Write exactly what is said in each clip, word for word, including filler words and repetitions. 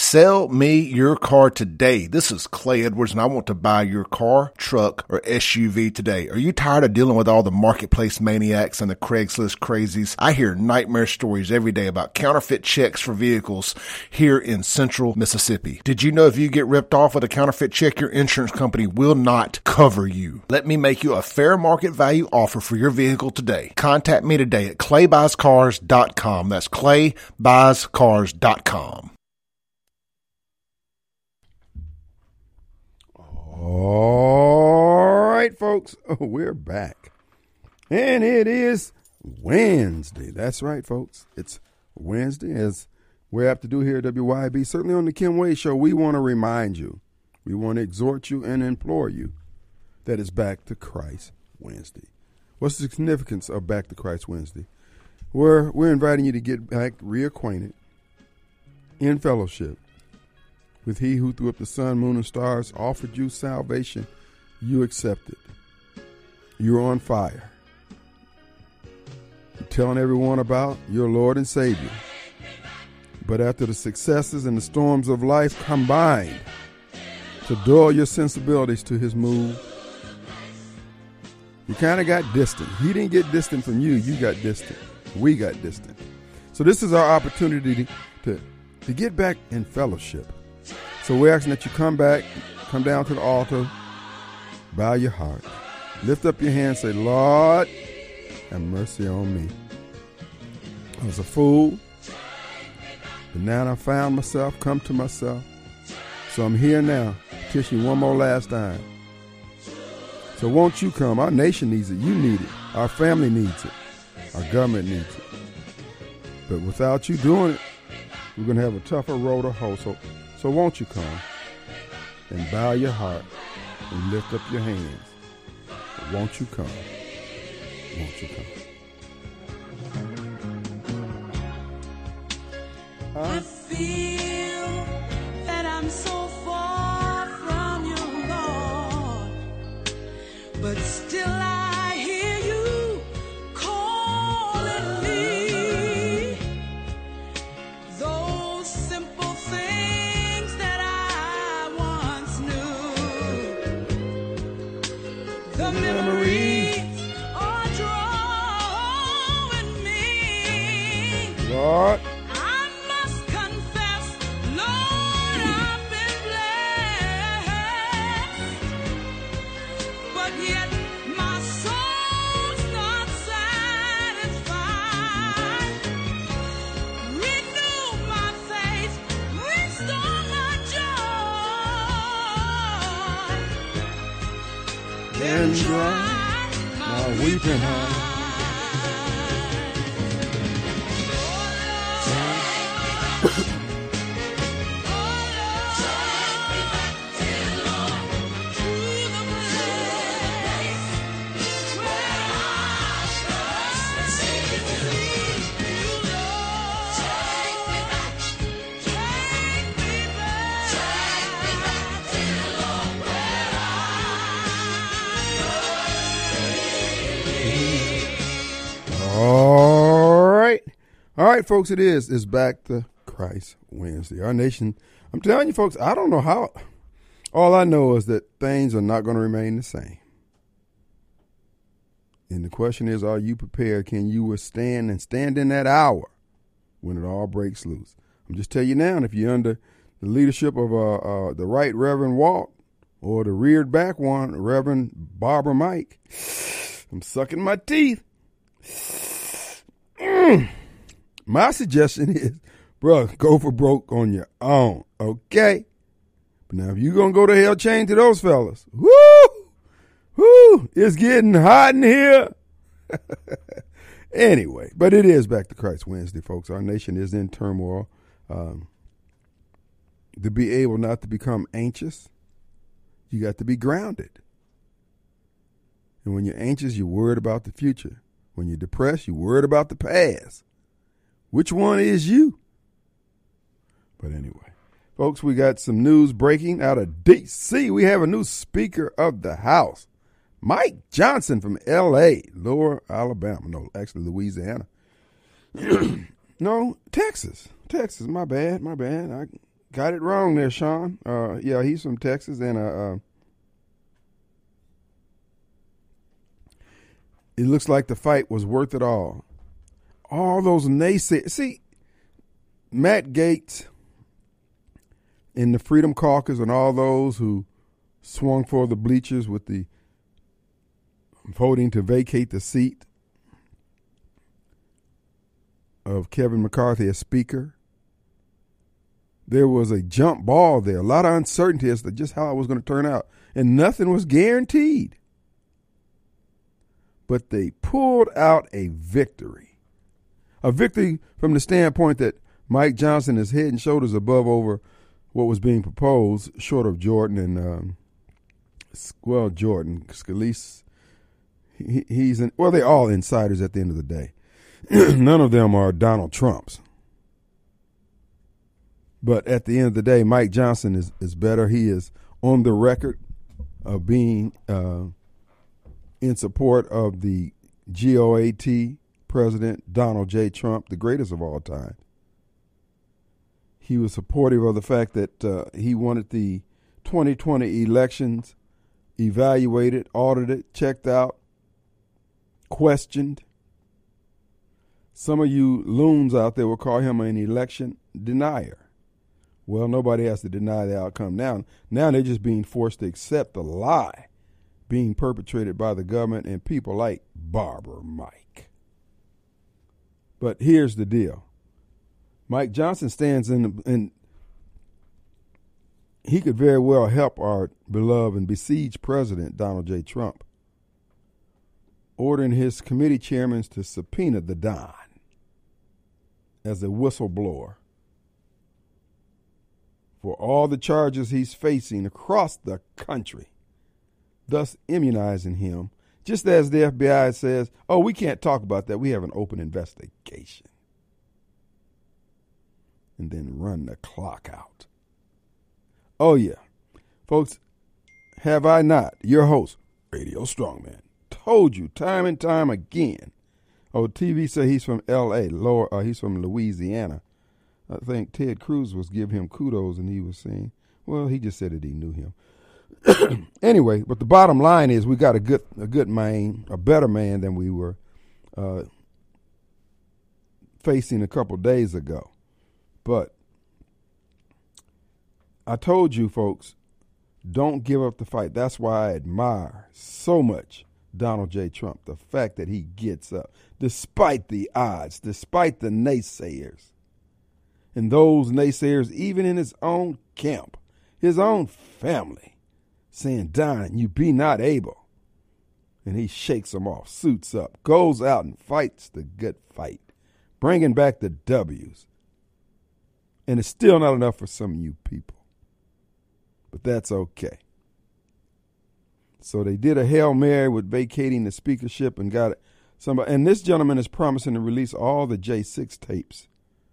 Sell me your car today. This is Clay Edwards, and I want to buy your car, truck, or S U V today. Are you tired of dealing with all the marketplace maniacs and the Craigslist crazies? I hear nightmare stories every day about counterfeit checks for vehicles here in central Mississippi. Did you know if you get ripped off with a counterfeit check, your insurance company will not cover you? Let me make you a fair market value offer for your vehicle today. Contact me today at clay buys cars dot com. That's clay buys cars dot com. All right, folks, oh, we're back. And it is Wednesday. That's right, folks. It's Wednesday, as we have to do here at W Y B. Certainly on the Kim Wade Show, we want to remind you, we want to exhort you and implore you that it's Back to Christ Wednesday. What's the significance of Back to Christ Wednesday? We're, we're inviting you to get back reacquainted in fellowship with he who threw up the sun, moon, and stars, offered you salvation. You accepted. You're on fire. You're telling everyone about your Lord and Savior. But after the successes and the storms of life combined to dull your sensibilities to his move, you kind of got distant. He didn't get distant from you. You got distant. We got distant. So this is our opportunity to, to, to get back in fellowship. So we're asking that you come back, come down to the altar, bow your heart, lift up your hand, say, Lord, have mercy on me. I was a fool, but now I found myself, come to myself. So I'm here now, petition you one more last time. So won't you come? Our nation needs it. You need it. Our family needs it. Our government needs it. But without you doing it, we're going to have a tougher road to hoe. So So won't you come and bow your heart and lift up your hands? Won't you come? Won't you come? Huh? I feel that I'm so far from you, Lord, but still I hear you calling me. Those simple things that I once knew, the memories are drawing me. Lord. And dry my weeping heart. All right. All right, folks, it is. It's Back to Christ Wednesday. Our nation, I'm telling you, folks, I don't know how. All I know is that things are not going to remain the same. And the question is, are you prepared? Can you withstand and stand in that hour when it all breaks loose? I'm just telling you now, if you're under the leadership of uh, uh, the Right Reverend Walt or the reared back one, Reverend Barbara Mike, I'm sucking my teeth. Mm. My suggestion is, bro, go for broke on your own, okay? But now if you're going to go to hell, chain to those fellas. Woo! Woo! It's getting hot in here. Anyway, but it is Back to Christ Wednesday, folks. Our nation is in turmoil. Um, to be able not to become anxious, you got to be grounded. And when you're anxious, you're worried about the future. When you're depressed, you're worried about the past. Which one is you? But anyway, folks, we got some news breaking out of D C. We have a new Speaker of the House, Mike Johnson from L A, Lower Alabama. No, actually Louisiana. No, Texas. Texas, my bad, my bad. I got it wrong there, Sean. Uh, yeah, he's from Texas, and uh, uh, it looks like the fight was worth it all. All those naysayers. See, Matt Gaetz in the Freedom Caucus and all those who swung for the bleachers with the voting to vacate the seat of Kevin McCarthy as Speaker. There was a jump ball there, a lot of uncertainty as to just how it was going to turn out, and nothing was guaranteed. But they pulled out a victory. A victory from the standpoint that Mike Johnson is head and shoulders above over what was being proposed, short of Jordan and, um, well, Jordan, Scalise. He, he's in, well, they're all insiders at the end of the day. None of them are Donald Trumps. But at the end of the day, Mike Johnson is, is better. He is on the record of being uh, in support of the G O A T President Donald J. Trump, the greatest of all time. He was supportive of the fact that uh, he wanted the twenty twenty elections evaluated, audited, checked out, questioned. Some of you loons out there will call him an election denier. Well, nobody has to deny the outcome now. Now they're just being forced to accept the lie being perpetrated by the government and people like Barber Mike. But here's the deal. Mike Johnson stands in, the, and he could very well help our beloved and besieged President Donald J. Trump, ordering his committee chairmen to subpoena the Don as a whistleblower for all the charges he's facing across the country, thus immunizing him, just as the F B I says, oh, we can't talk about that. We have an open investigation. And then run the clock out. Oh, yeah. Folks, have I not, your host, Radio Strongman, told you time and time again. Oh, T V said he's from L A, lower, uh, he's from Louisiana. I think Ted Cruz was giving him kudos, and he was saying, well, he just said that he knew him. Anyway, but the bottom line is we got a good a good man, a better man than we were uh, facing a couple days ago. But I told you, folks, don't give up the fight. That's why I admire so much Donald J. Trump, the fact that he gets up, despite the odds, despite the naysayers. And those naysayers, even in his own camp, his own family, saying, Don, you be not able. And he shakes them off, suits up, goes out and fights the good fight, bringing back the W's. And it's still not enough for some of you people. But that's okay. So they did a Hail Mary with vacating the speakership and got it. Somebody, and this gentleman is promising to release all the J six tapes,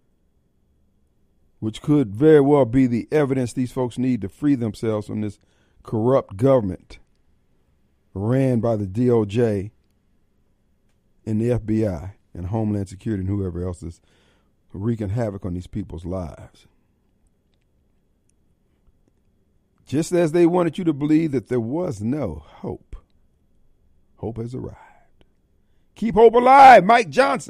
which could very well be the evidence these folks need to free themselves from this corrupt government ran by the D O J and the F B I and Homeland Security and whoever else is wreaking havoc on these people's lives. Just as they wanted you to believe that there was no hope, hope has arrived. Keep hope alive, Mike Johnson.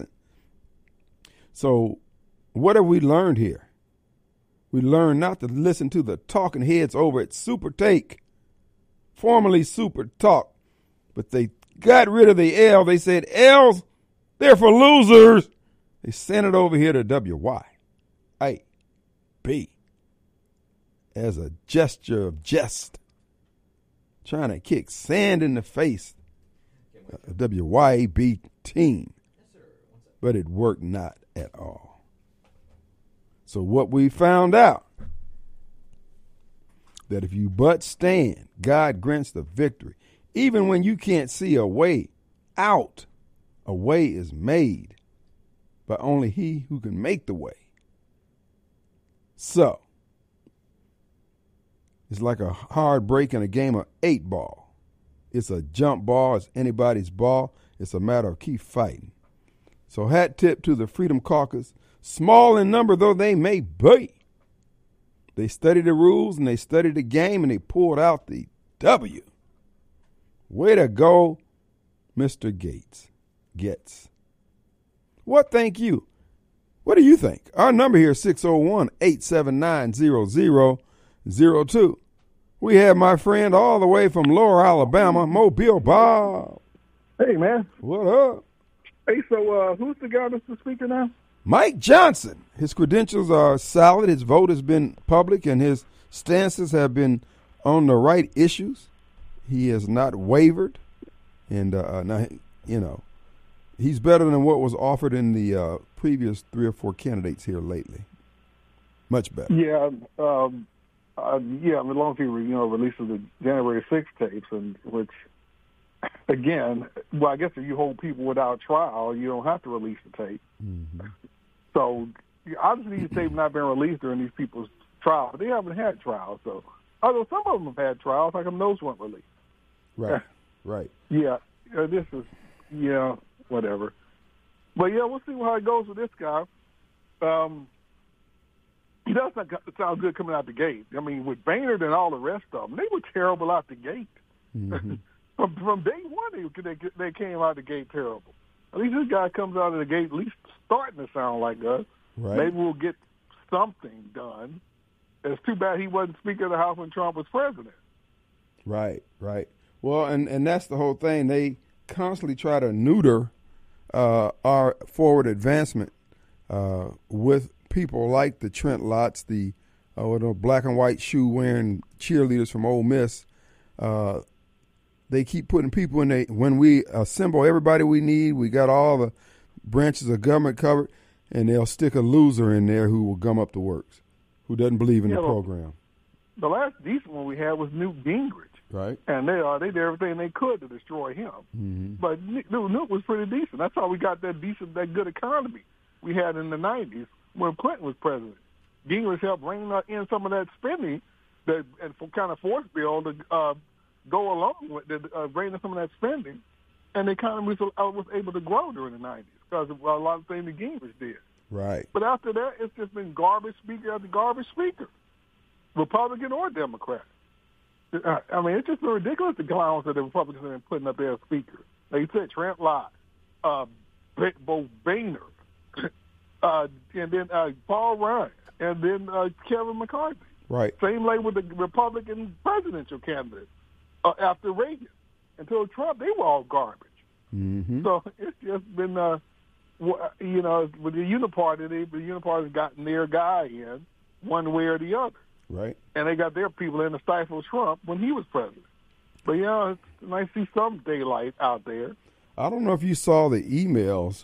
So what have we learned here? We learned not to listen to the talking heads over at Super Take, formerly Super Talk, but they got rid of the L. They said, L's, they're for losers. They sent it over here to W Y A B as a gesture of jest, trying to kick sand in the face of the W Y A B team. But it worked not at all. So what we found out, that if you but stand, God grants the victory. Even when you can't see a way out, a way is made by only he who can make the way. So, it's like a hard break in a game of eight ball. It's a jump ball. It's anybody's ball. It's a matter of keep fighting. So hat tip to the Freedom Caucus, small in number though they may be. They studied the rules and they studied the game and they pulled out the W. Way to go, Mister Gates. Getz. What think you? What do you think? Our number here is six oh one, eight seven nine, zero zero zero two. We have my friend all the way from Lower Alabama, Mobile Bob. Hey, man. What up? Hey, so uh, who's the guy that's the speaker now? Mike Johnson. His credentials are solid. His vote has been public, and his stances have been on the right issues. He has not wavered. And, uh, now, you know, he's better than what was offered in the uh, previous three or four candidates here lately. Much better. Yeah, um, uh, yeah. As long as he, you know, releases the January sixth tapes, and which, again, well, I guess if you hold people without trial, you don't have to release the tape. Mm-hmm. So obviously, these tapes have not been released during these people's trials, but they haven't had trials. So, although some of them have had trials, like them those weren't released. Right. Right. Yeah, uh, this is yeah, whatever. But yeah, we'll see how it goes with this guy. Um, he does not sound good coming out the gate. I mean, with Boehner and all the rest of them, they were terrible out the gate. Mm-hmm. from, from day one, they, they they came out the gate terrible. At least this guy comes out of the gate at least starting to sound like us. Right. Maybe we'll get something done. It's too bad he wasn't Speaker of the House when Trump was president. Right, right. Well, and, and that's the whole thing. They constantly try to neuter uh, our forward advancement uh, with people like the Trent Lotts, the uh, the black and white shoe wearing cheerleaders from Ole Miss. Uh, they keep putting people in there. When we assemble everybody we need, we got all the branches of government covered, and they'll stick a loser in there who will gum up the works, who doesn't believe in yeah, the well, program. The last decent one we had was Newt Gingrich. Right. And they uh, they did everything they could to destroy him. Mm-hmm. But Newt, Newt was pretty decent. That's how we got that decent, that good economy we had in the nineties when Clinton was president. Gingrich helped rein in some of that spending that and for kind of force bill to uh, go along with the uh, rein in some of that spending, and the economy was, uh, was able to grow during the nineties because of a lot of things that Gingrich did. Right. But after that, it's just been garbage speaker after garbage speaker, Republican or Democrat. I mean, it's just been ridiculous the clowns that the Republicans have been putting up there as speakers. Like you said, Trent Lott, uh, Bo Boehner, uh, and then uh, Paul Ryan, and then uh, Kevin McCarthy. Right. Same way with the Republican presidential candidates uh, after Reagan. Until Trump, they were all garbage. Mm-hmm. So it's just been, uh, you know, with the Uniparty, they, the Uniparty's gotten their guy in one way or the other. Right. And they got their people in to stifle Trump when he was president. But, yeah, it's nice to see some daylight out there. I don't know if you saw the emails.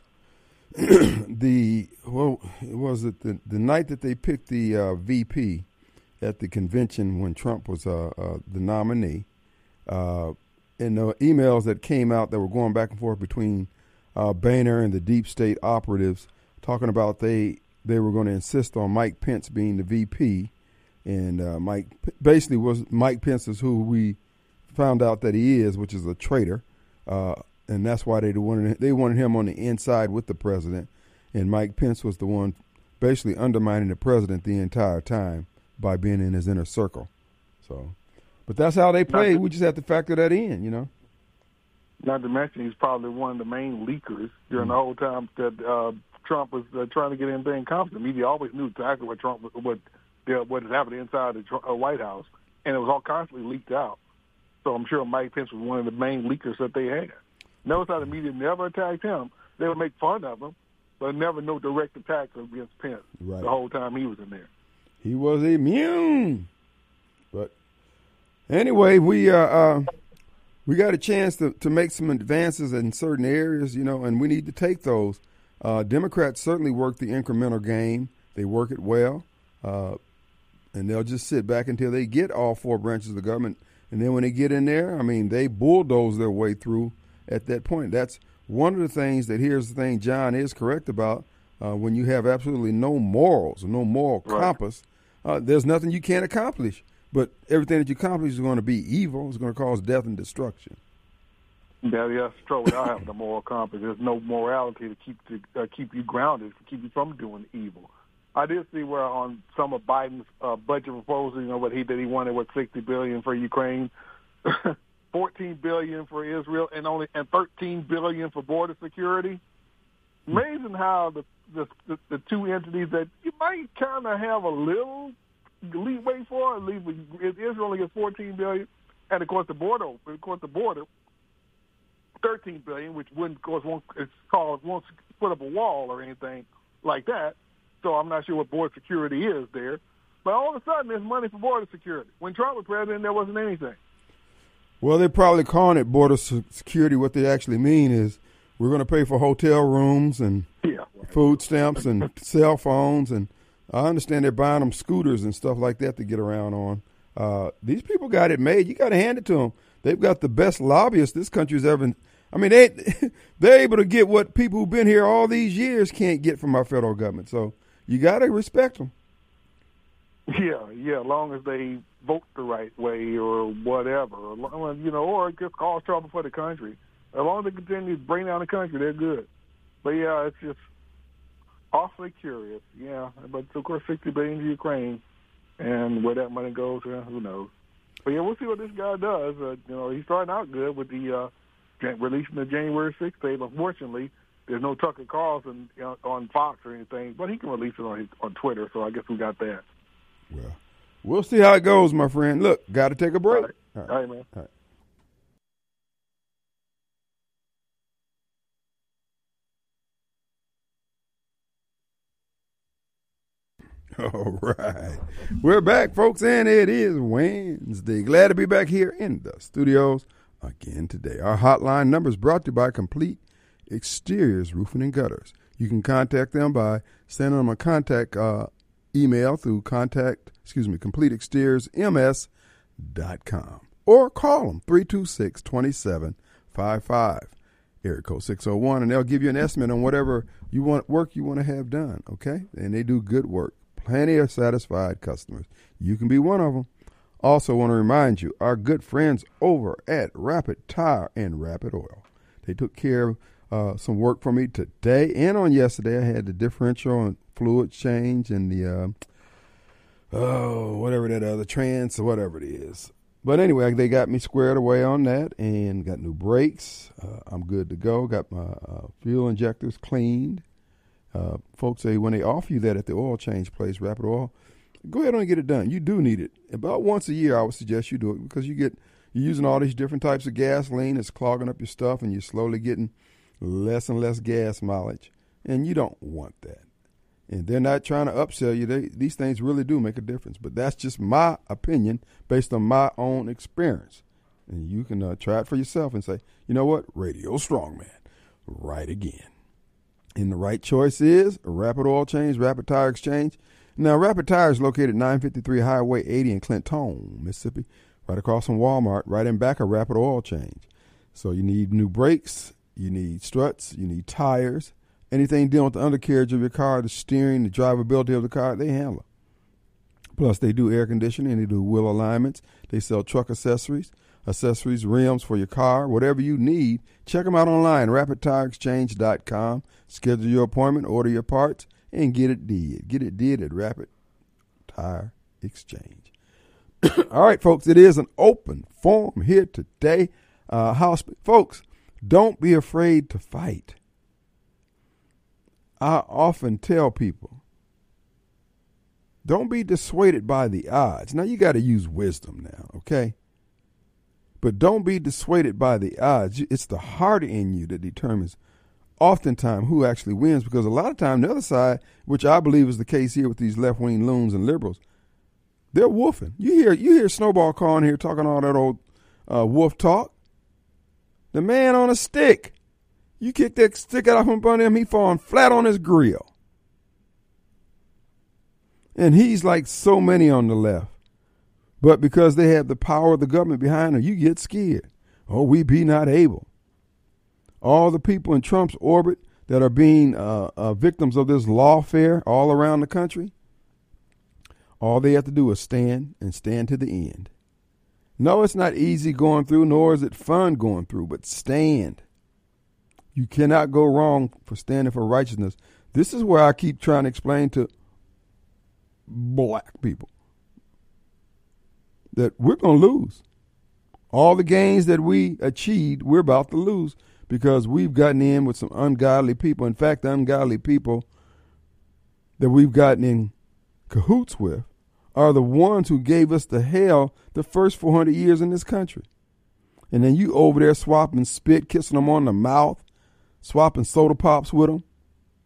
the, well, was it the, the night that they picked the uh, V P at the convention when Trump was uh, uh, the nominee, uh, and the emails that came out that were going back and forth between uh, Boehner and the deep state operatives talking about they, they were going to insist on Mike Pence being the V P. And uh, Mike basically was Mike Pence is who we found out that he is, which is a traitor, uh, and that's why they wanted they wanted him on the inside with the president. And Mike Pence was the one basically undermining the president the entire time by being in his inner circle. So, but that's how they play. We just have to factor that in, you know. Not to mention he's probably one of the main leakers during mm-hmm. the whole time that uh, Trump was uh, trying to get anything accomplished. The media always knew exactly what Trump what. what is happening inside the White House, and it was all constantly leaked out. So I'm sure Mike Pence was one of the main leakers that they had. Notice how the media never attacked him. They would make fun of him, but never no direct attacks against Pence right. the whole time he was in there. He was immune. But anyway, we uh, uh, we got a chance to, to make some advances in certain areas, you know, and we need to take those. Uh, Democrats certainly work the incremental game. They work it well. Uh, And they'll just sit back until they get all four branches of the government. And then when they get in there, I mean, they bulldoze their way through at that point. That's one of the things that, here's the thing John is correct about, uh, when you have absolutely no morals, no moral right. compass, uh, there's nothing you can't accomplish. But everything that you accomplish is going to be evil. It's going to cause death and destruction. Yeah, yeah, that's true. Without having a moral compass, there's no morality to keep to uh, keep you grounded, to keep you from doing evil. I did see where on some of Biden's uh, budget proposal, you know, what he did, he wanted what sixty billion dollars for Ukraine, fourteen billion dollars for Israel, and only and thirteen billion dollars for border security. Amazing how the the, the, the two entities that you might kind of have a little leeway for, at least Israel only gets fourteen billion dollars, and of course the border, of course the border, thirteen billion dollars, which wouldn't, of course, won't it's called won't put up a wall or anything like that. So I'm not sure what border security is there. But all of a sudden, there's money for border security. When Trump was president, there wasn't anything. Well, they're probably calling it border security. What they actually mean is we're going to pay for hotel rooms and yeah, right. food stamps and cell phones. And I understand they're buying them scooters and stuff like that to get around on. Uh, these people got it made. You got to hand it to them. They've got the best lobbyists this country's ever. I mean, they they're able to get what people who've been here all these years can't get from our federal government. So you got to respect them. Yeah, yeah, as long as they vote the right way or whatever, you know, or just cause trouble for the country. As long as they continue to bring down the country, they're good. But, yeah, it's just awfully curious, yeah. But, of course, sixty billion dollars to Ukraine, and where that money goes, uh, who knows. But, yeah, we'll see what this guy does. Uh, you know, he's starting out good with the uh, releasing the January sixth tape. Unfortunately, there's no Tucker Carlson you know, on Fox or anything, but he can release it on his, on Twitter, so I guess we got that. Well, we'll see how it goes, my friend. Look, got to take a break. All right, All right. All right man. All right. All right. We're back, folks, and it is Wednesday. Glad to be back here in the studios again today. Our hotline number is brought to you by Complete Exteriors Roofing and Gutters. You can contact them by sending them a contact uh, email through contact, excuse me, complete exteriors m s dot com or call them three two six, two seven five five, area code six oh one, and they'll give you an estimate on whatever you want work you want to have done, okay? And they do good work. Plenty of satisfied customers. You can be one of them. Also want to remind you, our good friends over at Rapid Tire and Rapid Oil. They took care of uh, some work for me today and on yesterday. I had the differential and fluid change and the, uh, oh, whatever that other trans, whatever it is. But anyway, they got me squared away on that and got new brakes. Uh, I'm good to go. Got my uh, fuel injectors cleaned. Uh, folks say when they offer you that at the oil change place, Rapid Oil, go ahead and get it done. You do need it. About once a year, I would suggest you do it because you get, you're using all these different types of gasoline. It's clogging up your stuff, and you're slowly getting less and less gas mileage, and you don't want that. And they're not trying to upsell you. They, these things really do make a difference, but that's just my opinion based on my own experience. And you can uh, try it for yourself and say, you know what, Radio Strongman, right again. And the right choice is Rapid Oil Change, Rapid Tire Exchange. Now, Rapid Tire is located nine fifty-three Highway eighty in Clinton, Mississippi, right across from Walmart, right in back of Rapid Oil Change. So you need new brakes, you need struts, you need tires, anything dealing with the undercarriage of your car, the steering, the drivability of the car, they handle it. Plus, they do air conditioning, they do wheel alignments, they sell truck accessories, accessories, rims for your car, whatever you need. Check them out online, rapid tire exchange dot com. Schedule your appointment, order your parts, and get it did. Get it did at Rapid Tire Exchange. All right, folks, it is an open forum here today. Uh, house, folks, don't be afraid to fight. I often tell people, don't be dissuaded by the odds. Now, you got to use wisdom now, okay? But don't be dissuaded by the odds. It's the heart in you that determines oftentimes who actually wins, because a lot of time the other side, which I believe is the case here with these left-wing loons and liberals, they're woofing. You hear you hear Snowball calling here talking all that old uh, wolf talk. The man on a stick. You kick that stick out from under him, he falling flat on his grill. And he's like so many on the left. But because they have the power of the government behind them, you get scared. Oh, we be not able. All the people in Trump's orbit that are being uh, uh, victims of this lawfare all around the country, all they have to do is stand and stand to the end. No, it's not easy going through, nor is it fun going through, but stand. You cannot go wrong for standing for righteousness. This is where I keep trying to explain to black people, that we're going to lose. All the gains that we achieved, we're about to lose because we've gotten in with some ungodly people. In fact, the ungodly people that we've gotten in cahoots with are the ones who gave us the hell the first four hundred years in this country. And then you over there swapping spit, kissing them on the mouth, swapping soda pops with them.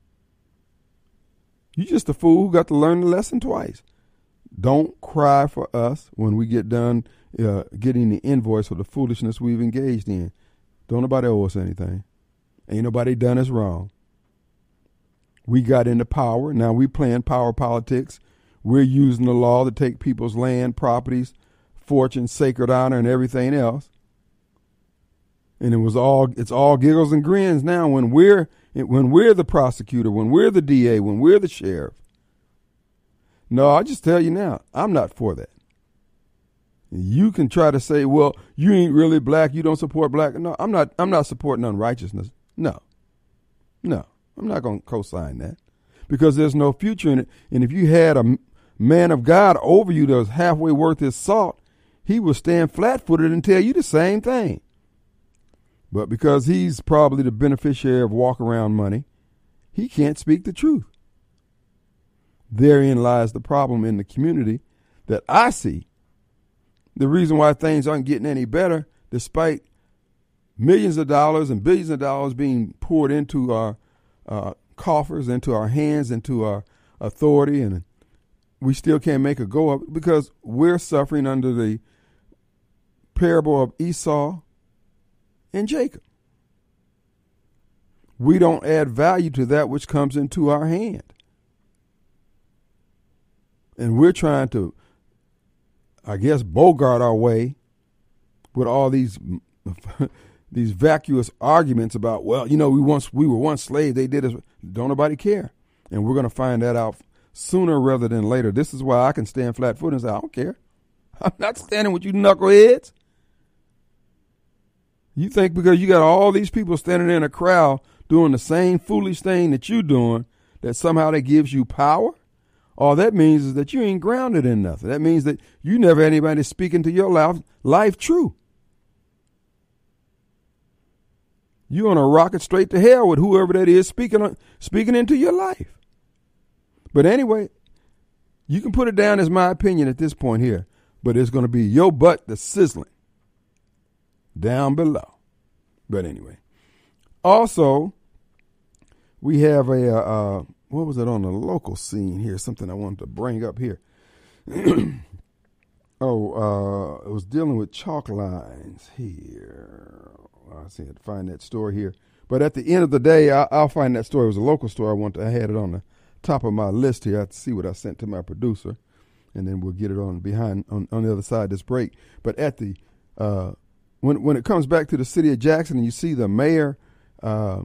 You just a fool who got to learn the lesson twice. Don't cry for us when we get done uh, getting the invoice for the foolishness we've engaged in. Don't nobody owe us anything. Ain't nobody done us wrong. We got into power. Now we playing power politics. We're using the law to take people's land, properties, fortune, sacred honor, and everything else. And it was all it's all giggles and grins now when we're when we're the prosecutor, when we're the D A, when we're the sheriff. No, I just tell you now, I'm not for that. You can try to say, well, you ain't really black, you don't support black. No, I'm not I'm not supporting unrighteousness. No. No, I'm not going to co-sign that because there's no future in it. And if you had a man of God over you that was halfway worth his salt, he would stand flat-footed and tell you the same thing. But because he's probably the beneficiary of walk-around money, he can't speak the truth. Therein lies the problem in the community that I see. The reason why things aren't getting any better, despite millions of dollars and billions of dollars being poured into our uh, coffers, into our hands, into our authority, and we still can't make a go of it because we're suffering under the parable of Esau and Jacob. We don't add value to that which comes into our hand. And we're trying to, I guess, bogart our way with all these these vacuous arguments about, well, you know, we once we were once slaves, they did us. Don't nobody care. And we're going to find that out sooner rather than later. This is why I can stand flat-footed and say, I don't care. I'm not standing with you knuckleheads. You think because you got all these people standing in a crowd doing the same foolish thing that you're doing, that somehow that gives you power? All that means is that you ain't grounded in nothing. That means that you never had anybody speaking to your life, life true. You're on a rocket straight to hell with whoever that is speaking speaking into your life. But anyway, you can put it down as my opinion at this point here, but it's going to be your butt that's sizzling down below. But anyway, also, we have a, uh, what was it on the local scene here? Something I wanted to bring up here. oh, uh, it was dealing with chalk lines here. I see it, find that story here. But at the end of the day, I, I'll find that story. It was a local story. I want to, I had it on the top of my list here. I have to see what I sent to my producer, and then we'll get it on behind on, on the other side of this break. But at the uh, when when it comes back to the city of Jackson, and you see the mayor uh,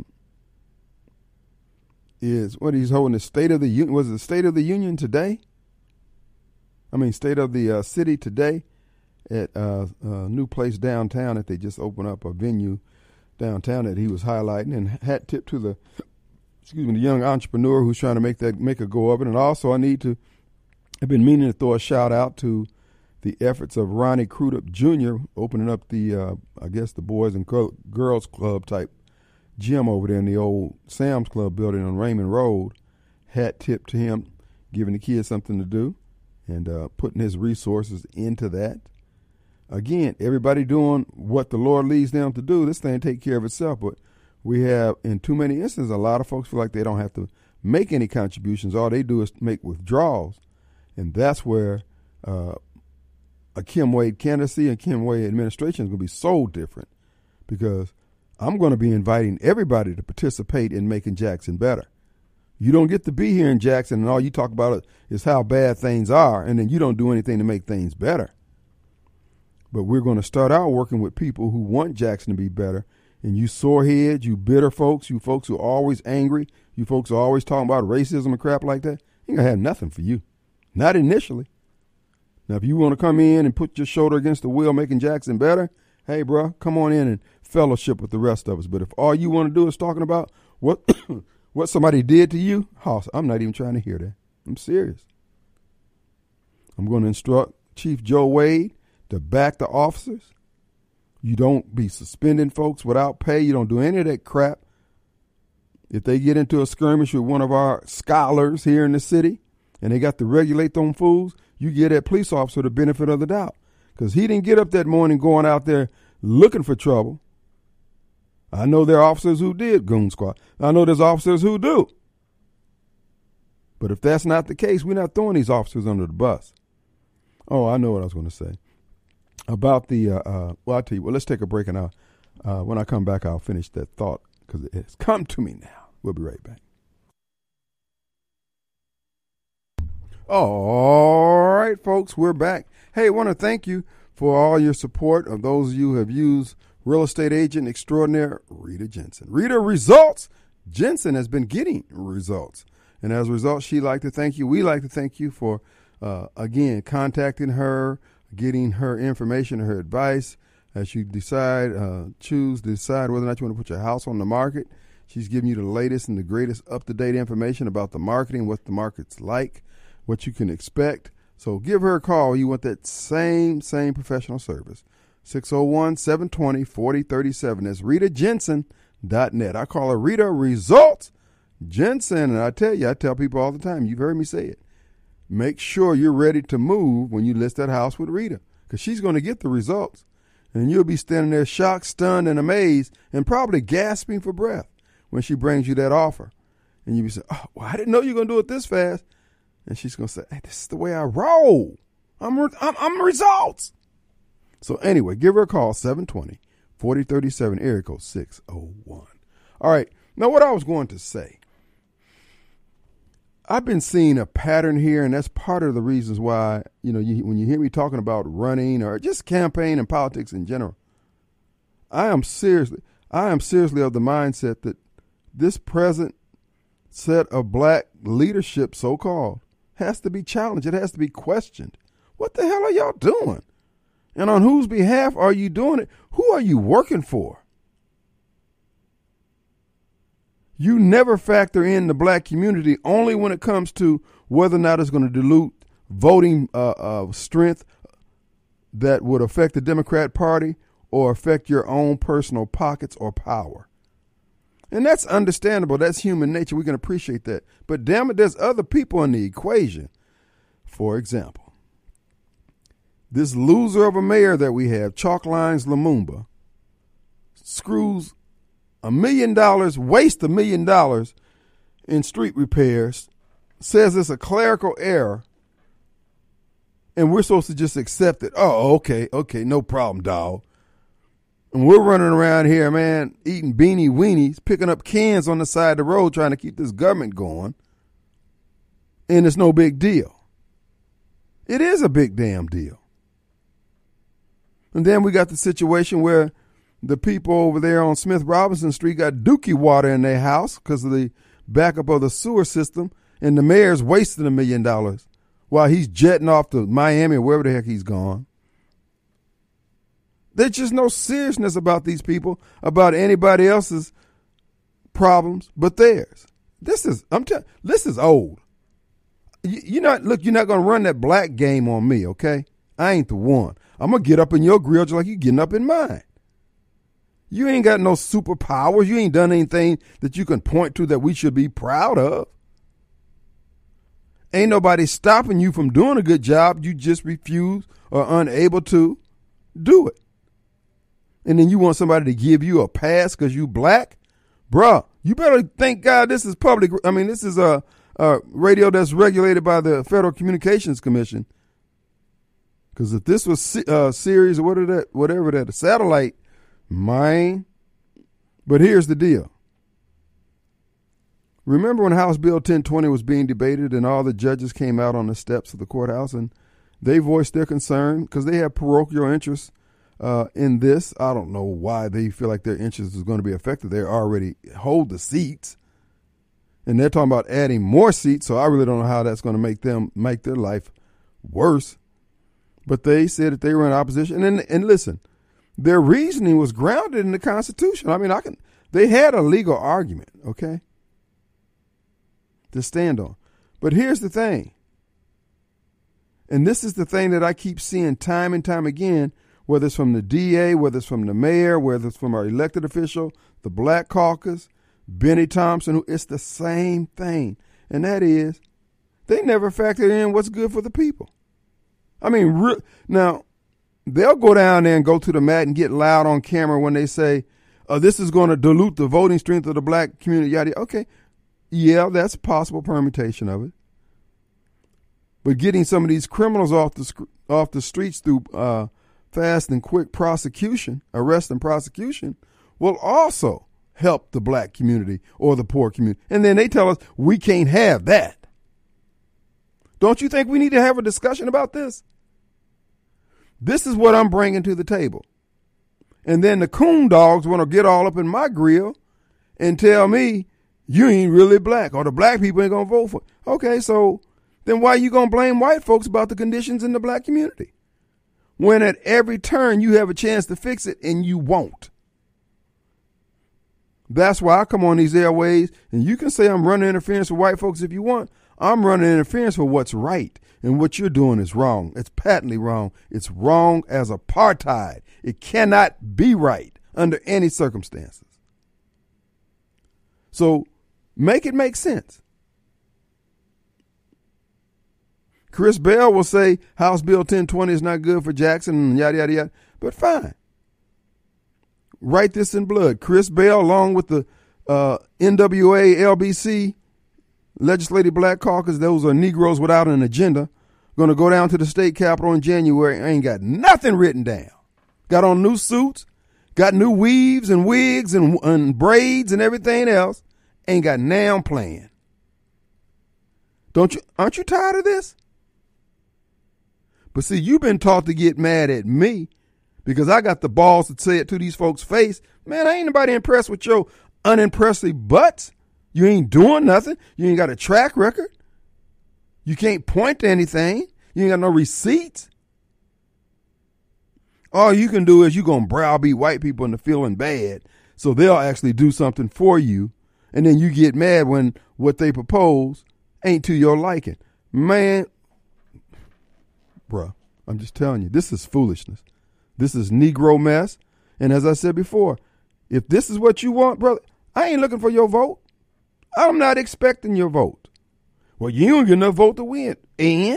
is what he's holding the State of the Union. Was it the State of the Union today? I mean, State of the uh, City today. At uh, a new place downtown that they just opened up, a venue downtown that he was highlighting, and hat tip to the excuse me the young entrepreneur who's trying to make that make a go of it. And also I need to I've been meaning to throw a shout out to the efforts of Ronnie Crudup Junior opening up the uh, I guess the Boys and Girls Club type gym over there in the old Sam's Club building on Raymond Road. Hat tip to him, giving the kids something to do and uh, putting his resources into that. Again, everybody doing what the Lord leads them to do. This thing take care of itself. But we have, in too many instances, a lot of folks feel like they don't have to make any contributions. All they do is make withdrawals. And that's where uh, a Kim Wade candidacy and Kim Wade administration is going to be so different. Because I'm going to be inviting everybody to participate in making Jackson better. You don't get to be here in Jackson and all you talk about is how bad things are. And then you don't do anything to make things better. But we're going to start out working with people who want Jackson to be better. And you soreheads, you bitter folks, you folks who are always angry, you folks who are always talking about racism and crap like that, ain't going to have nothing for you. Not initially. Now, if you want to come in and put your shoulder against the wheel making Jackson better, hey, bro, come on in and fellowship with the rest of us. But if all you want to do is talking about what what somebody did to you, Hoss, I'm not even trying to hear that. I'm serious. I'm going to instruct Chief Joe Wade to back the officers. You don't be suspending folks without pay. You don't do any of that crap. If they get into a skirmish with one of our scholars here in the city and they got to regulate them fools, you give that police officer the benefit of the doubt. Because he didn't get up that morning going out there looking for trouble. I know there are officers who did goon squad. I know there's officers who do. But if that's not the case, we're not throwing these officers under the bus. Oh, I know what I was going to say. About the, uh, uh, well, I'll tell you, well, let's take a break and I'll, uh, when I come back, I'll finish that thought because it has come to me now. We'll be right back. All right, folks, we're back. Hey, I want to thank you for all your support of those of you who have used real estate agent extraordinaire Rita Jensen. Rita Results. Jensen has been getting results. And as a result, she'd like to thank you. We like to thank you for, uh, again, contacting her, getting her information, her advice as you decide, uh, choose to decide whether or not you want to put your house on the market. She's giving you the latest and the greatest up-to-date information about the marketing, what the market's like, what you can expect. So give her a call. You want that same, same professional service. six oh one, seven two zero, four oh three seven. That's Rita Jensen dot net. I call her Rita Results Jensen. And I tell you, I tell people all the time, you've heard me say it. Make sure you're ready to move when you list that house with Rita, because she's going to get the results. And you'll be standing there shocked, stunned, and amazed, and probably gasping for breath when she brings you that offer. And you'll be saying, oh, well, I didn't know you were going to do it this fast. And she's going to say, hey, this is the way I roll. I'm, re- I'm, I'm results. So anyway, give her a call, seven two zero, four oh three seven, area code six oh one. All right. Now, what I was going to say, I've been seeing a pattern here, and that's part of the reasons why, you know, you, when you hear me talking about running or just campaign and politics in general, I am seriously, I am seriously of the mindset that this present set of black leadership, so-called, has to be challenged. It has to be questioned. What the hell are y'all doing? And on whose behalf are you doing it? Who are you working for? You never factor in the black community only when it comes to whether or not it's going to dilute voting uh, uh, strength that would affect the Democrat Party or affect your own personal pockets or power. And that's understandable. That's human nature. We can appreciate that. But damn it, there's other people in the equation. For example, this loser of a mayor that we have, Chalk Lines Lumumba, screws a million dollars, wastes a million dollars in street repairs, says it's a clerical error, and we're supposed to just accept it. Oh, okay, okay, no problem, dog. And we're running around here, man, eating beanie weenies, picking up cans on the side of the road, trying to keep this government going, and it's no big deal. It is a big damn deal. And then we got the situation where the people over there on Smith Robinson Street got dookie water in their house because of the backup of the sewer system, and the mayor's wasting a million dollars while he's jetting off to Miami or wherever the heck he's gone. There's just no seriousness about these people, about anybody else's problems but theirs. This is, I'm telling, this is old. You, you're not, look, you're not going to run that black game on me, okay? I ain't the one. I'm going to get up in your grill just like you getting up in mine. You ain't got no superpowers. You ain't done anything that you can point to that we should be proud of. Ain't nobody stopping you from doing a good job. You just refuse or unable to do it. And then you want somebody to give you a pass because you black? Bruh, you better thank God this is public. I mean, this is a, a radio that's regulated by the Federal Communications Commission. Because if this was a series or whatever that, whatever that, a satellite, mine. But here's the deal. Remember when House Bill ten twenty was being debated and all the judges came out on the steps of the courthouse and they voiced their concern because they have parochial interests uh, in this. I don't know why they feel like their interest is going to be affected. They already hold the seats and they're talking about adding more seats. So I really don't know how that's going to make them make their life worse. But they said that they were in opposition. And, and listen, their reasoning was grounded in the Constitution. I mean, I can. They had a legal argument, okay, to stand on. But here's the thing. And this is the thing that I keep seeing time and time again, whether it's from the D A, whether it's from the mayor, whether it's from our elected official, the Black Caucus, Benny Thompson, it's the same thing. And that is, they never factored in what's good for the people. I mean, re- now, they'll go down there and go to the mat and get loud on camera when they say, oh, this is going to dilute the voting strength of the black community. Yada. Okay, yeah, that's a possible permutation of it. But getting some of these criminals off the sc- off the streets through uh, fast and quick prosecution, arrest and prosecution, will also help the black community or the poor community. And then they tell us we can't have that. Don't you think we need to have a discussion about this? This is what I'm bringing to the table. And then the coon dogs want to get all up in my grill and tell me you ain't really black or the black people ain't going to vote for it. Okay, so then why are you going to blame white folks about the conditions in the black community? When at every turn you have a chance to fix it and you won't. That's why I come on these airways, and you can say I'm running interference for white folks if you want. I'm running interference for what's right, and what you're doing is wrong. It's patently wrong. It's wrong as apartheid. It cannot be right under any circumstances. So make it make sense. Chris Bell will say House Bill ten twenty is not good for Jackson and yada, yada, yada. But fine. Write this in blood. Chris Bell, along with the uh, N W A L B C, Legislative Black Caucus, those are Negroes without an agenda, going to go down to the state capitol in January. I ain't got nothing written down. Got on new suits, got new weaves and wigs and, and braids and everything else. Ain't got now plan. Don't you? Aren't you tired of this? But see, you've been taught to get mad at me because I got the balls to say it to these folks' face. Man, I ain't nobody impressed with your unimpressive butts. You ain't doing nothing. You ain't got a track record. You can't point to anything. You ain't got no receipts. All you can do is you going to browbeat white people into feeling bad so they'll actually do something for you. And then you get mad when what they propose ain't to your liking. Man, bruh, I'm just telling you, this is foolishness. This is Negro mess. And as I said before, if this is what you want, brother, I ain't looking for your vote. I'm not expecting your vote. Well, you don't get enough vote to win. And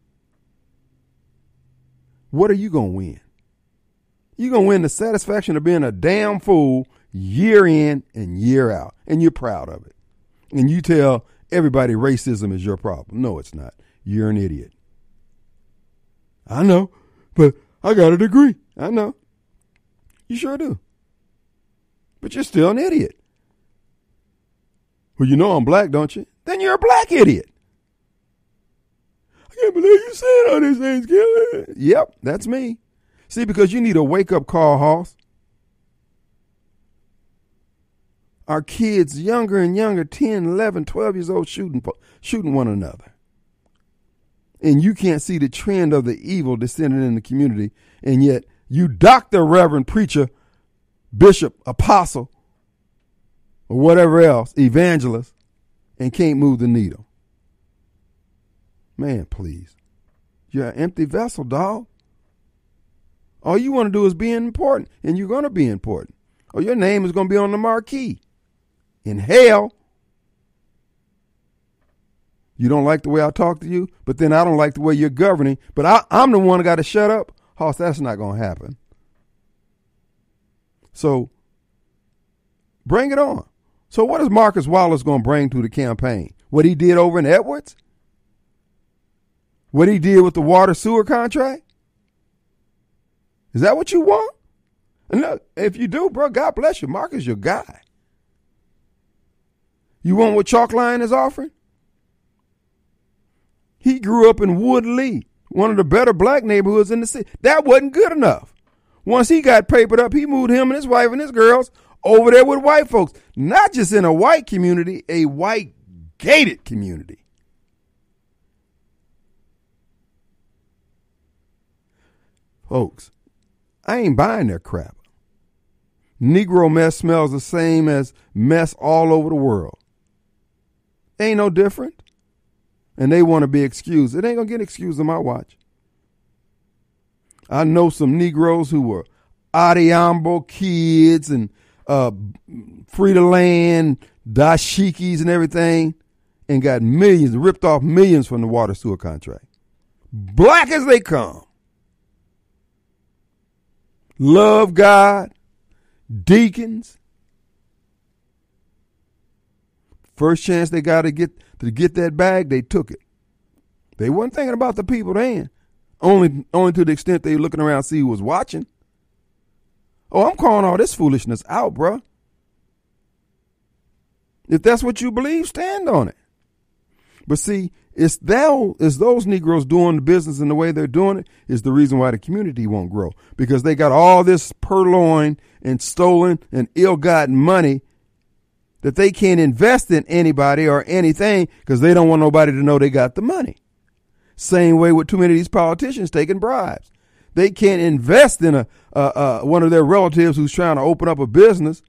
what are you going to win? You're going to win the satisfaction of being a damn fool year in and year out. And you're proud of it. And you tell everybody racism is your problem. No, it's not. You're an idiot. I know, but I got a degree. I know. You sure do. But you're still an idiot. Well, you know I'm black, don't you? Then you're a black idiot. I can't believe you saying all these things, Kelly. Yep, that's me. See, because you need a wake-up call, Hoss. Our kids, younger and younger, ten, eleven, twelve years old, shooting, shooting one another. And you can't see the trend of the evil descending in the community, and yet you doctor, reverend, preacher, bishop, apostle, or whatever else, evangelist, and can't move the needle. Man, please. You're an empty vessel, dog. All you want to do is be important, and you're going to be important. Or your name is going to be on the marquee. In hell. You don't like the way I talk to you, but then I don't like the way you're governing, but I, I'm the one that got to shut up. Hoss, that's not going to happen. So bring it on. So what is Marcus Wallace going to bring to the campaign? What he did over in Edwards? What he did with the water sewer contract? Is that what you want? And look, if you do, bro, God bless you. Marcus, your guy. You want what Chalkline is offering? He grew up in Woodley, one of the better black neighborhoods in the city. That wasn't good enough. Once he got papered up, he moved him and his wife and his girls over there with white folks. Not just in a white community, a white gated community. Folks, I ain't buying their crap. Negro mess smells the same as mess all over the world. Ain't no different. And they want to be excused. It ain't going to get excused on my watch. I know some Negroes who were Adiambo kids and uh, Free to Land, dashikis and everything, and got millions, ripped off millions from the water sewer contract. Black as they come. Love God, deacons. First chance they got to get to get that bag, they took it. They wasn't thinking about the people then. Only, only to the extent they were looking around to see who was watching. Oh, I'm calling all this foolishness out, bro. If that's what you believe, stand on it. But see, it's, that, it's those Negroes doing the business in the way they're doing it is the reason why the community won't grow. Because they got all this purloined and stolen and ill-gotten money that they can't invest in anybody or anything because they don't want nobody to know they got the money. Same way with too many of these politicians taking bribes. They can't invest in a uh, uh, one of their relatives who's trying to open up a business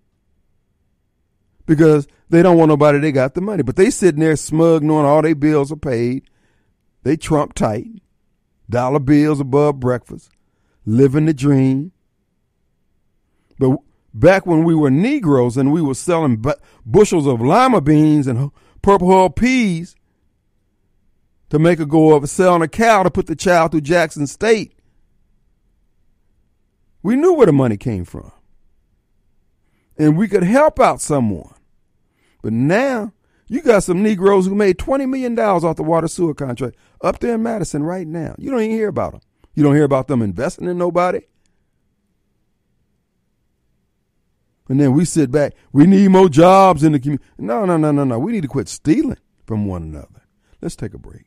because they don't want nobody they got the money. But they sitting there smug knowing all their bills are paid. They Trump tight. Dollar bills above breakfast. Living the dream. But back when we were Negroes and we were selling bu- bushels of lima beans and purple hull peas to make a go of it, selling a cow to put the child through Jackson State, we knew where the money came from. And we could help out someone. But now, you got some Negroes who made twenty million dollars off the water sewer contract up there in Madison right now. You don't even hear about them. You don't hear about them investing in nobody. And then we sit back. We need more jobs in the community. No, no, no, no, no. We need to quit stealing from one another. Let's take a break.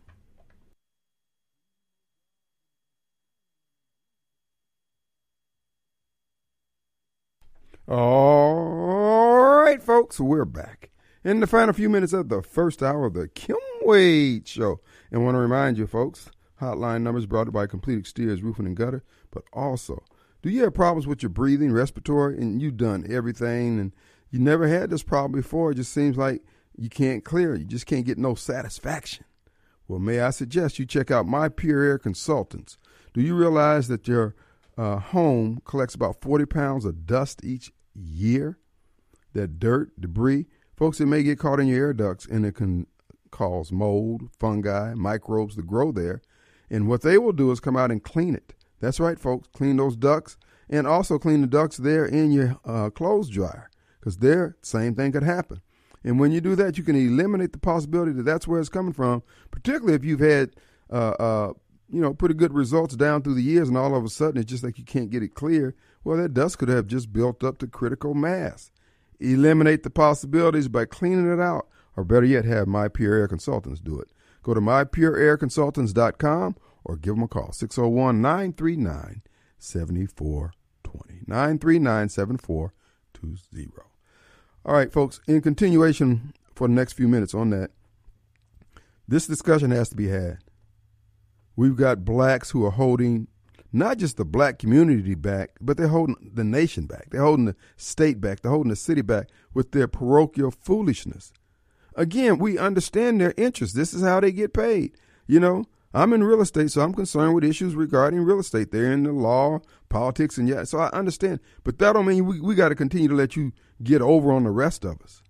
All right, folks, we're back in the final few minutes of the first hour of the Kim Wade Show. And I want to remind you, folks, hotline numbers brought to you by Complete Exteriors Roofing and Gutter, but also, do you have problems with your breathing, respiratory, and you've done everything, and you never had this problem before? It just seems like you can't clear. You just can't get no satisfaction. Well, may I suggest you check out My Pure Air Consultants. Do you realize that your uh, home collects about forty pounds of dust each year? That dirt, debris, folks, it may get caught in your air ducts, and it can cause mold, fungi, microbes to grow there. And what they will do is come out and clean it. That's right, folks. Clean those ducts and also clean the ducts there in your uh, clothes dryer, because there, same thing could happen. And when you do that, you can eliminate the possibility that that's where it's coming from, particularly if you've had, uh, uh, you know, pretty good results down through the years, and all of a sudden it's just like you can't get it clear. Well, that dust could have just built up to critical mass. Eliminate the possibilities by cleaning it out, or better yet, have My Pure Air Consultants do it. Go to my pure air consultants dot com or give them a call, six oh one, nine three nine, seven four two zero, nine three nine, seven four two zero. All right, folks, in continuation for the next few minutes on that, this discussion has to be had. We've got blacks who are holding not just the black community back, but they're holding the nation back. They're holding the state back. They're holding the city back with their parochial foolishness. Again, we understand their interests. This is how they get paid. You know, I'm in real estate, so I'm concerned with issues regarding real estate. They're in the law, politics, and yeah, so I understand. But that don't mean we, we got to continue to let you get over on the rest of us.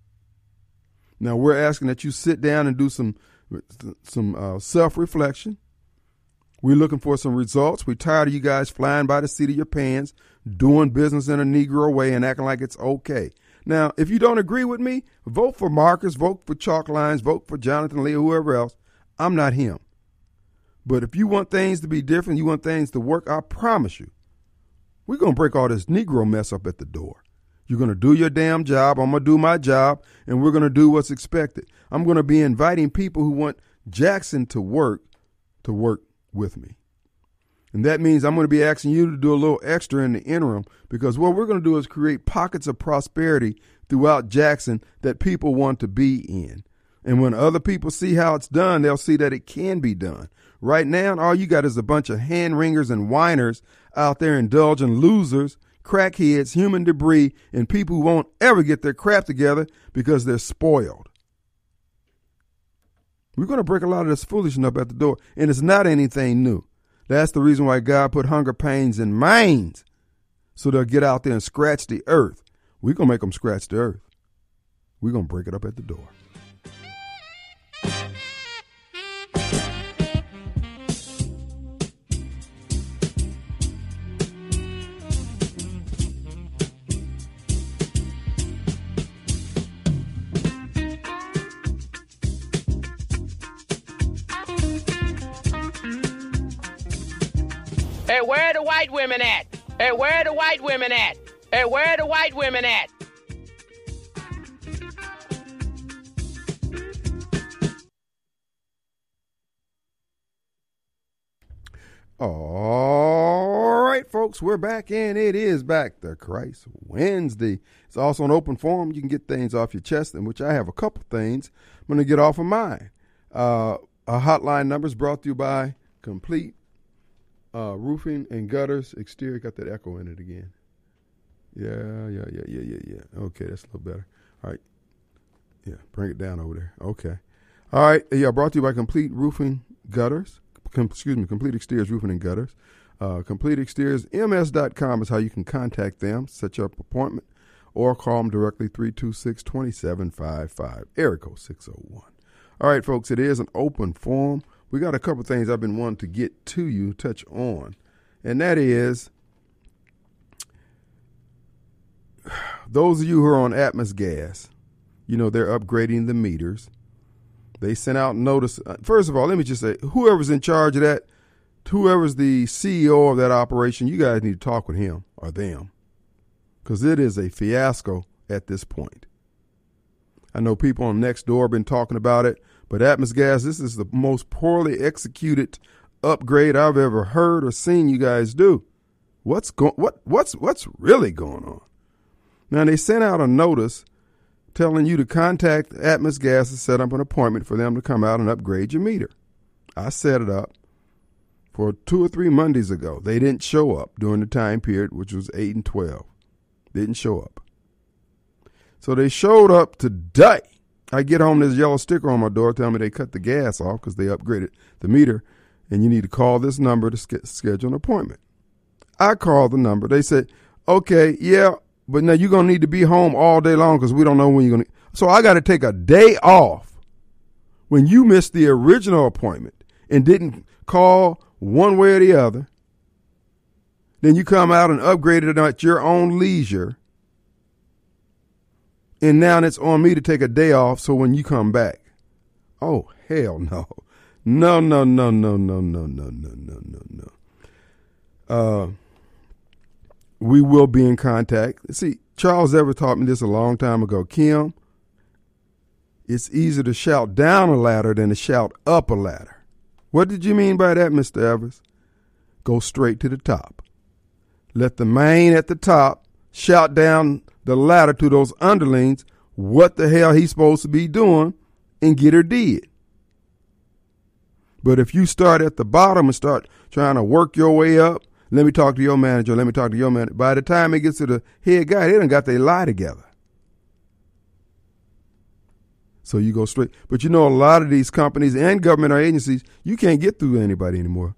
Now, we're asking that you sit down and do some, some uh, self-reflection. We're looking for some results. We're tired of you guys flying by the seat of your pants, doing business in a Negro way and acting like it's okay. Now, if you don't agree with me, vote for Marcus, vote for Chalk Lines, vote for Jonathan Lee, or whoever else. I'm not him. But if you want things to be different, you want things to work, I promise you, we're going to break all this Negro mess up at the door. You're going to do your damn job. I'm going to do my job, and we're going to do what's expected. I'm going to be inviting people who want Jackson to work to work with me. And that means I'm going to be asking you to do a little extra in the interim, because what we're going to do is create pockets of prosperity throughout Jackson that people want to be in. And when other people see how it's done, they'll see that it can be done. Right now, all you got is a bunch of hand-wringers and whiners out there indulging losers, crackheads, human debris, and people who won't ever get their crap together because they're spoiled. We're going to break a lot of this foolishness up at the door, and it's not anything new. That's the reason why God put hunger pains in minds, so they'll get out there and scratch the earth. We're going to make them scratch the earth. We're going to break it up at the door. Hey, where are the white women at? Hey, where are the white women at? Hey, where are the white women at? All right, folks, we're back, and it is back to Christ Wednesday. It's also an open forum. You can get things off your chest, in which I have a couple things I'm going to get off of mine. Uh, a hotline number is brought to you by Complete uh, Roofing and Gutters Exterior. Got that echo in it again. Yeah, yeah, yeah, yeah, yeah, yeah. Okay, that's a little better. All right. Yeah, bring it down over there. Okay. All right. Yeah, brought to you by Complete Roofing Gutters. Com- excuse me, Complete Exteriors Roofing and Gutters. Uh, Complete Exteriors M S dot com is how you can contact them, set your appointment, or call them directly, three two six, two seven five five, area code six oh one. All right, folks, it is an open forum. We got a couple things I've been wanting to get to you, touch on, and that is those of you who are on Atmos Gas, you know, they're upgrading the meters. They sent out notice. First of all, let me just say, whoever's in charge of that, whoever's the C E O of that operation, you guys need to talk with him or them, because it is a fiasco at this point. I know people on Nextdoor have been talking about it, but Atmos Gas, this is the most poorly executed upgrade I've ever heard or seen you guys do. What's going? What what's what's really going on? Now, they sent out a notice telling you to contact Atmos Gas to set up an appointment for them to come out and upgrade your meter. I set it up for two or three Mondays ago. They didn't show up during the time period, which was eight and twelve. Didn't show up. So they showed up today. I get home, there's a yellow sticker on my door telling me they cut the gas off because they upgraded the meter, and you need to call this number to sk- schedule an appointment. I called the number. They said, okay, yeah, but now you're going to need to be home all day long because we don't know when you're going to. So I got to take a day off when you missed the original appointment and didn't call one way or the other. Then you come out and upgrade it at your own leisure. And now it's on me to take a day off so when you come back. Oh, hell no. No, no, no, no, no, no, no, no, no, no, no. Uh, we will be in contact. See, Charles Evers taught me this a long time ago. Kim, it's easier to shout down a ladder than to shout up a ladder. What did you mean by that, Mister Evers? Go straight to the top. Let the man at the top shout down the ladder to those underlings what the hell he's supposed to be doing and get her did. But if you start at the bottom and start trying to work your way up, let me talk to your manager, let me talk to your manager. By the time it gets to the head guy, they done got their lie together. So you go straight. But you know, a lot of these companies and government or agencies, you can't get through to anybody anymore.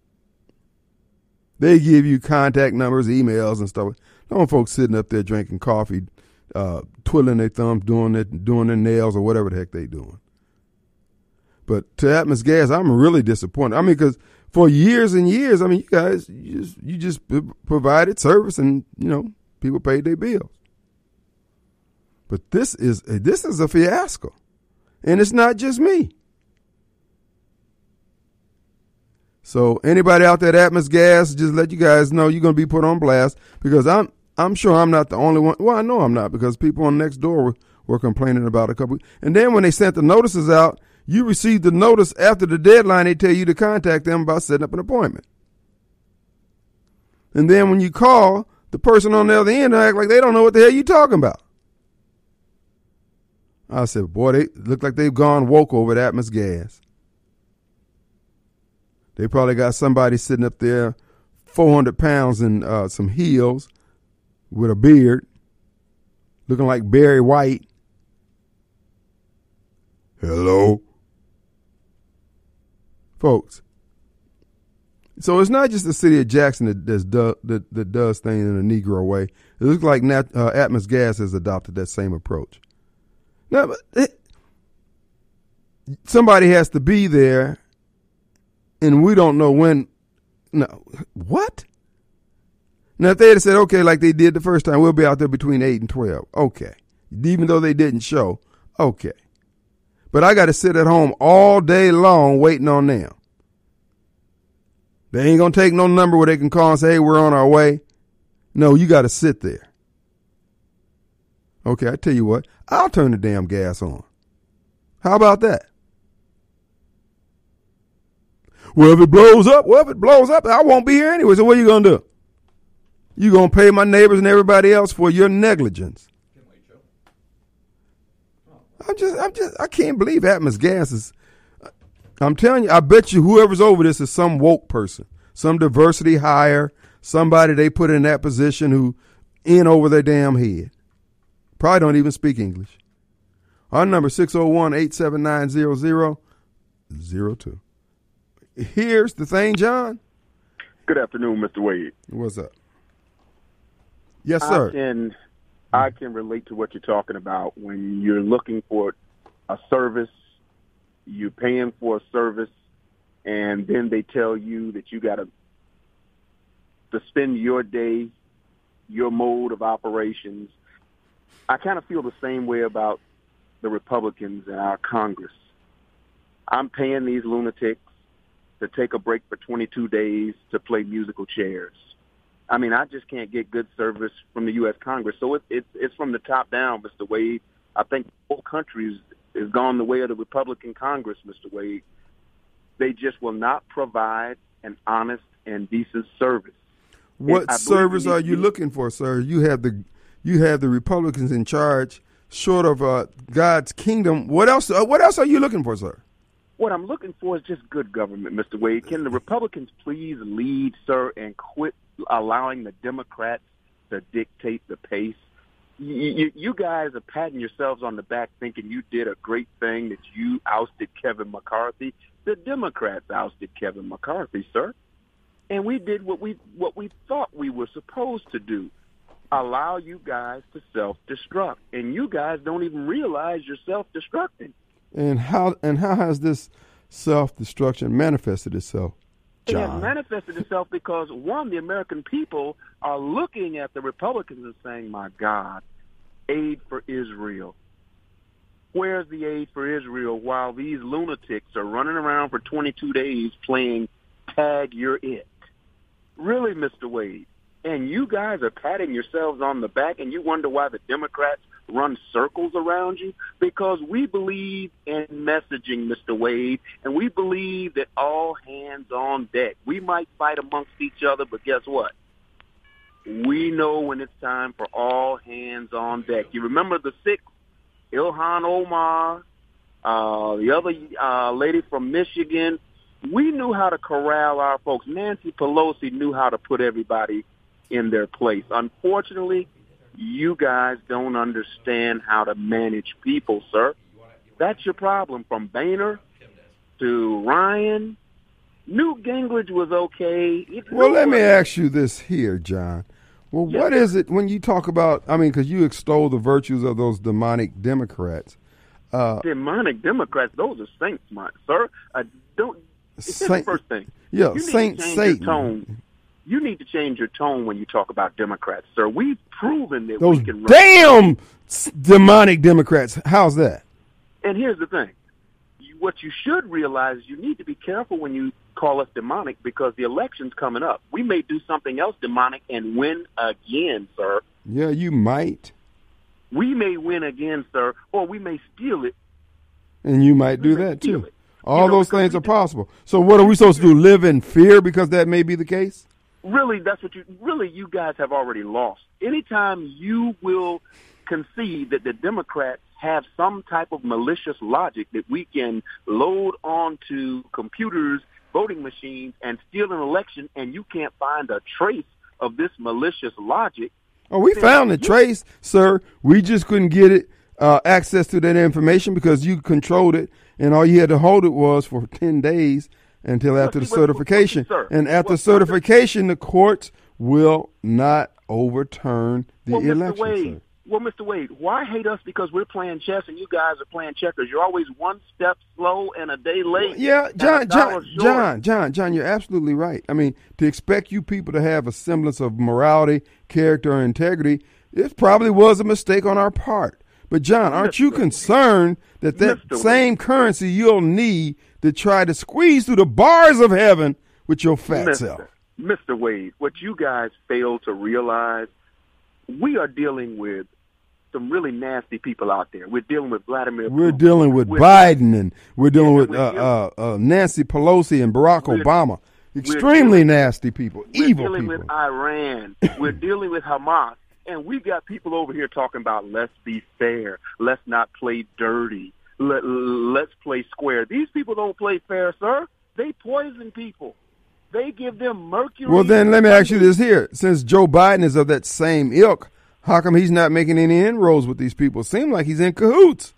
They give you contact numbers, emails, and stuff. Don't folks sitting up there drinking coffee, uh, twiddling their thumbs, doing it, doing their nails, or whatever the heck they doing. But to Atmos Gas, I'm really disappointed. I mean, because for years and years, I mean, you guys, you just, you just provided service, and you know, people paid their bills. But this is this is a fiasco, and it's not just me. So anybody out there at Atmos Gas, just let you guys know you're going to be put on blast, because I'm I'm sure I'm not the only one. Well, I know I'm not, because people on Nextdoor were, were complaining about a couple. And then when they sent the notices out, you received the notice after the deadline. They tell you to contact them about setting up an appointment. And then when you call, the person on the other end act like they don't know what the hell you talking about. I said, boy, they look like they've gone woke over at Atmos Gas. They probably got somebody sitting up there, four hundred pounds in uh, some heels with a beard, looking like Barry White. Hello? Folks, So it's not just the city of Jackson that does, that, that does things in a Negro way. It looks like Nat, uh, Atmos Gas has adopted that same approach. Now, but it, somebody has to be there, and we don't know when. No, what? Now, if they had said, okay, like they did the first time, we'll be out there between eight and twelve. Okay. Even though they didn't show. Okay. But I got to sit at home all day long waiting on them. They ain't going to take no number where they can call and say, hey, we're on our way. No, you got to sit there. Okay, I tell you what, I'll turn the damn gas on. How about that? Well, if it blows up, well, if it blows up, I won't be here anyway. So what are you going to do? You going to pay my neighbors and everybody else for your negligence. I'm just, I'm just, I can't believe Atmos Gas is, I'm telling you, I bet you whoever's over this is some woke person, some diversity hire, somebody they put in that position who in over their damn head. Probably don't even speak English. Our number six oh one, eight seven nine, zero zero zero two. Here's the thing, John. Good afternoon, Mister Wade. What's up? Yes, sir. I can, I can relate to what you're talking about when you're looking for a service, you're paying for a service, and then they tell you that you got to to spend your day, your mode of operations. I kind of feel the same way about the Republicans in our Congress. I'm paying these lunatics to take a break for twenty-two days to play musical chairs. I mean, I just can't get good service from the U S Congress. So it, it, it's from the top down, Mister Wade. I think the whole country has gone the way of the Republican Congress, Mister Wade. They just will not provide an honest and decent service. What service are you looking for, sir? You have the you have the Republicans in charge, short of uh, God's kingdom. What else? Uh, what else are you looking for, sir? What I'm looking for is just good government, Mister Wade. Can the Republicans please lead, sir, and quit allowing the Democrats to dictate the pace? You, you, you guys are patting yourselves on the back thinking you did a great thing, that you ousted Kevin McCarthy. The Democrats ousted Kevin McCarthy, sir. And we did what we what we thought we were supposed to do, allow you guys to self-destruct. And you guys don't even realize you're self-destructing. And how and how has this self-destruction manifested itself, John? It has manifested itself because, one, the American people are looking at the Republicans and saying, my God, aid for Israel. Where's the aid for Israel while these lunatics are running around for twenty-two days playing Tag You're It? Really, Mister Wade? And you guys are patting yourselves on the back and you wonder why the Democrats run circles around you? Because we believe in messaging, Mister Wade, and we believe that all hands on deck. We might fight amongst each other, but guess what? We know when it's time for all hands on deck. You remember the six, Ilhan Omar, uh, the other uh, lady from Michigan. We knew how to corral our folks. Nancy Pelosi knew how to put everybody in their place. Unfortunately, you guys don't understand how to manage people, sir. That's your problem. From Boehner to Ryan, Newt Gingrich was okay. It well, let me ask you this here, John. Well, yes, what is it when you talk about, I mean, because you extol the virtues of those demonic Democrats. Uh, demonic Democrats, those are saints, my, sir. Uh, don't. It's Saint, the first thing. Yeah, you Saint need to change Satan. Your tone. You need to change your tone when you talk about Democrats, sir. We've proven that Those we can run. damn demonic Democrats. How's that? And here's the thing. You, what you should realize is you need to be careful when you call us demonic because the election's coming up. We may do something else demonic and win again, sir. Yeah, you might. We may win again, sir, or we may steal it. And you might we do may that, steal too. It. All you know, those things are possible. So what are we supposed to do, live in fear because that may be the case? Really, that's what you, really, you guys have already lost. Anytime you will concede that the Democrats have some type of malicious logic that we can load onto computers, voting machines, and steal an election, and you can't find a trace of this malicious logic. Oh, we found the trace, sir. We just couldn't get it, uh, access to that information because you controlled it, and all you had to hold it was for ten days. until Well, after the see, well, well, certification. sir, And after well, certification, the courts will not overturn the well, Mister election, Wade, sir. Well, Mister Wade, why hate us because we're playing chess and you guys are playing checkers? You're always one step slow and a day late. Yeah, and John, a dollar John, short. John, John, John, you're absolutely right. I mean, to expect you people to have a semblance of morality, character, and integrity, it probably was a mistake on our part. But, John, aren't you concerned that that Mister same currency you'll need to try to squeeze through the bars of heaven with your fat Mister self? Mister Wade, what you guys fail to realize, we are dealing with some really nasty people out there. We're dealing with Vladimir We're Putin. dealing with We're- Biden, and we're dealing Yeah, with we're uh, dealing- uh, uh, Nancy Pelosi and Barack We're- Obama. Extremely dealing- nasty people, We're evil dealing people. with Iran. We're dealing with Hamas. And we've got people over here talking about let's be fair. Let's not play dirty. Let, let's play square. These people don't play fair, sir. They poison people. They give them mercury. Well, then let me ask you this here. Since Joe Biden is of that same ilk, how come he's not making any inroads with these people? Seem like he's in cahoots.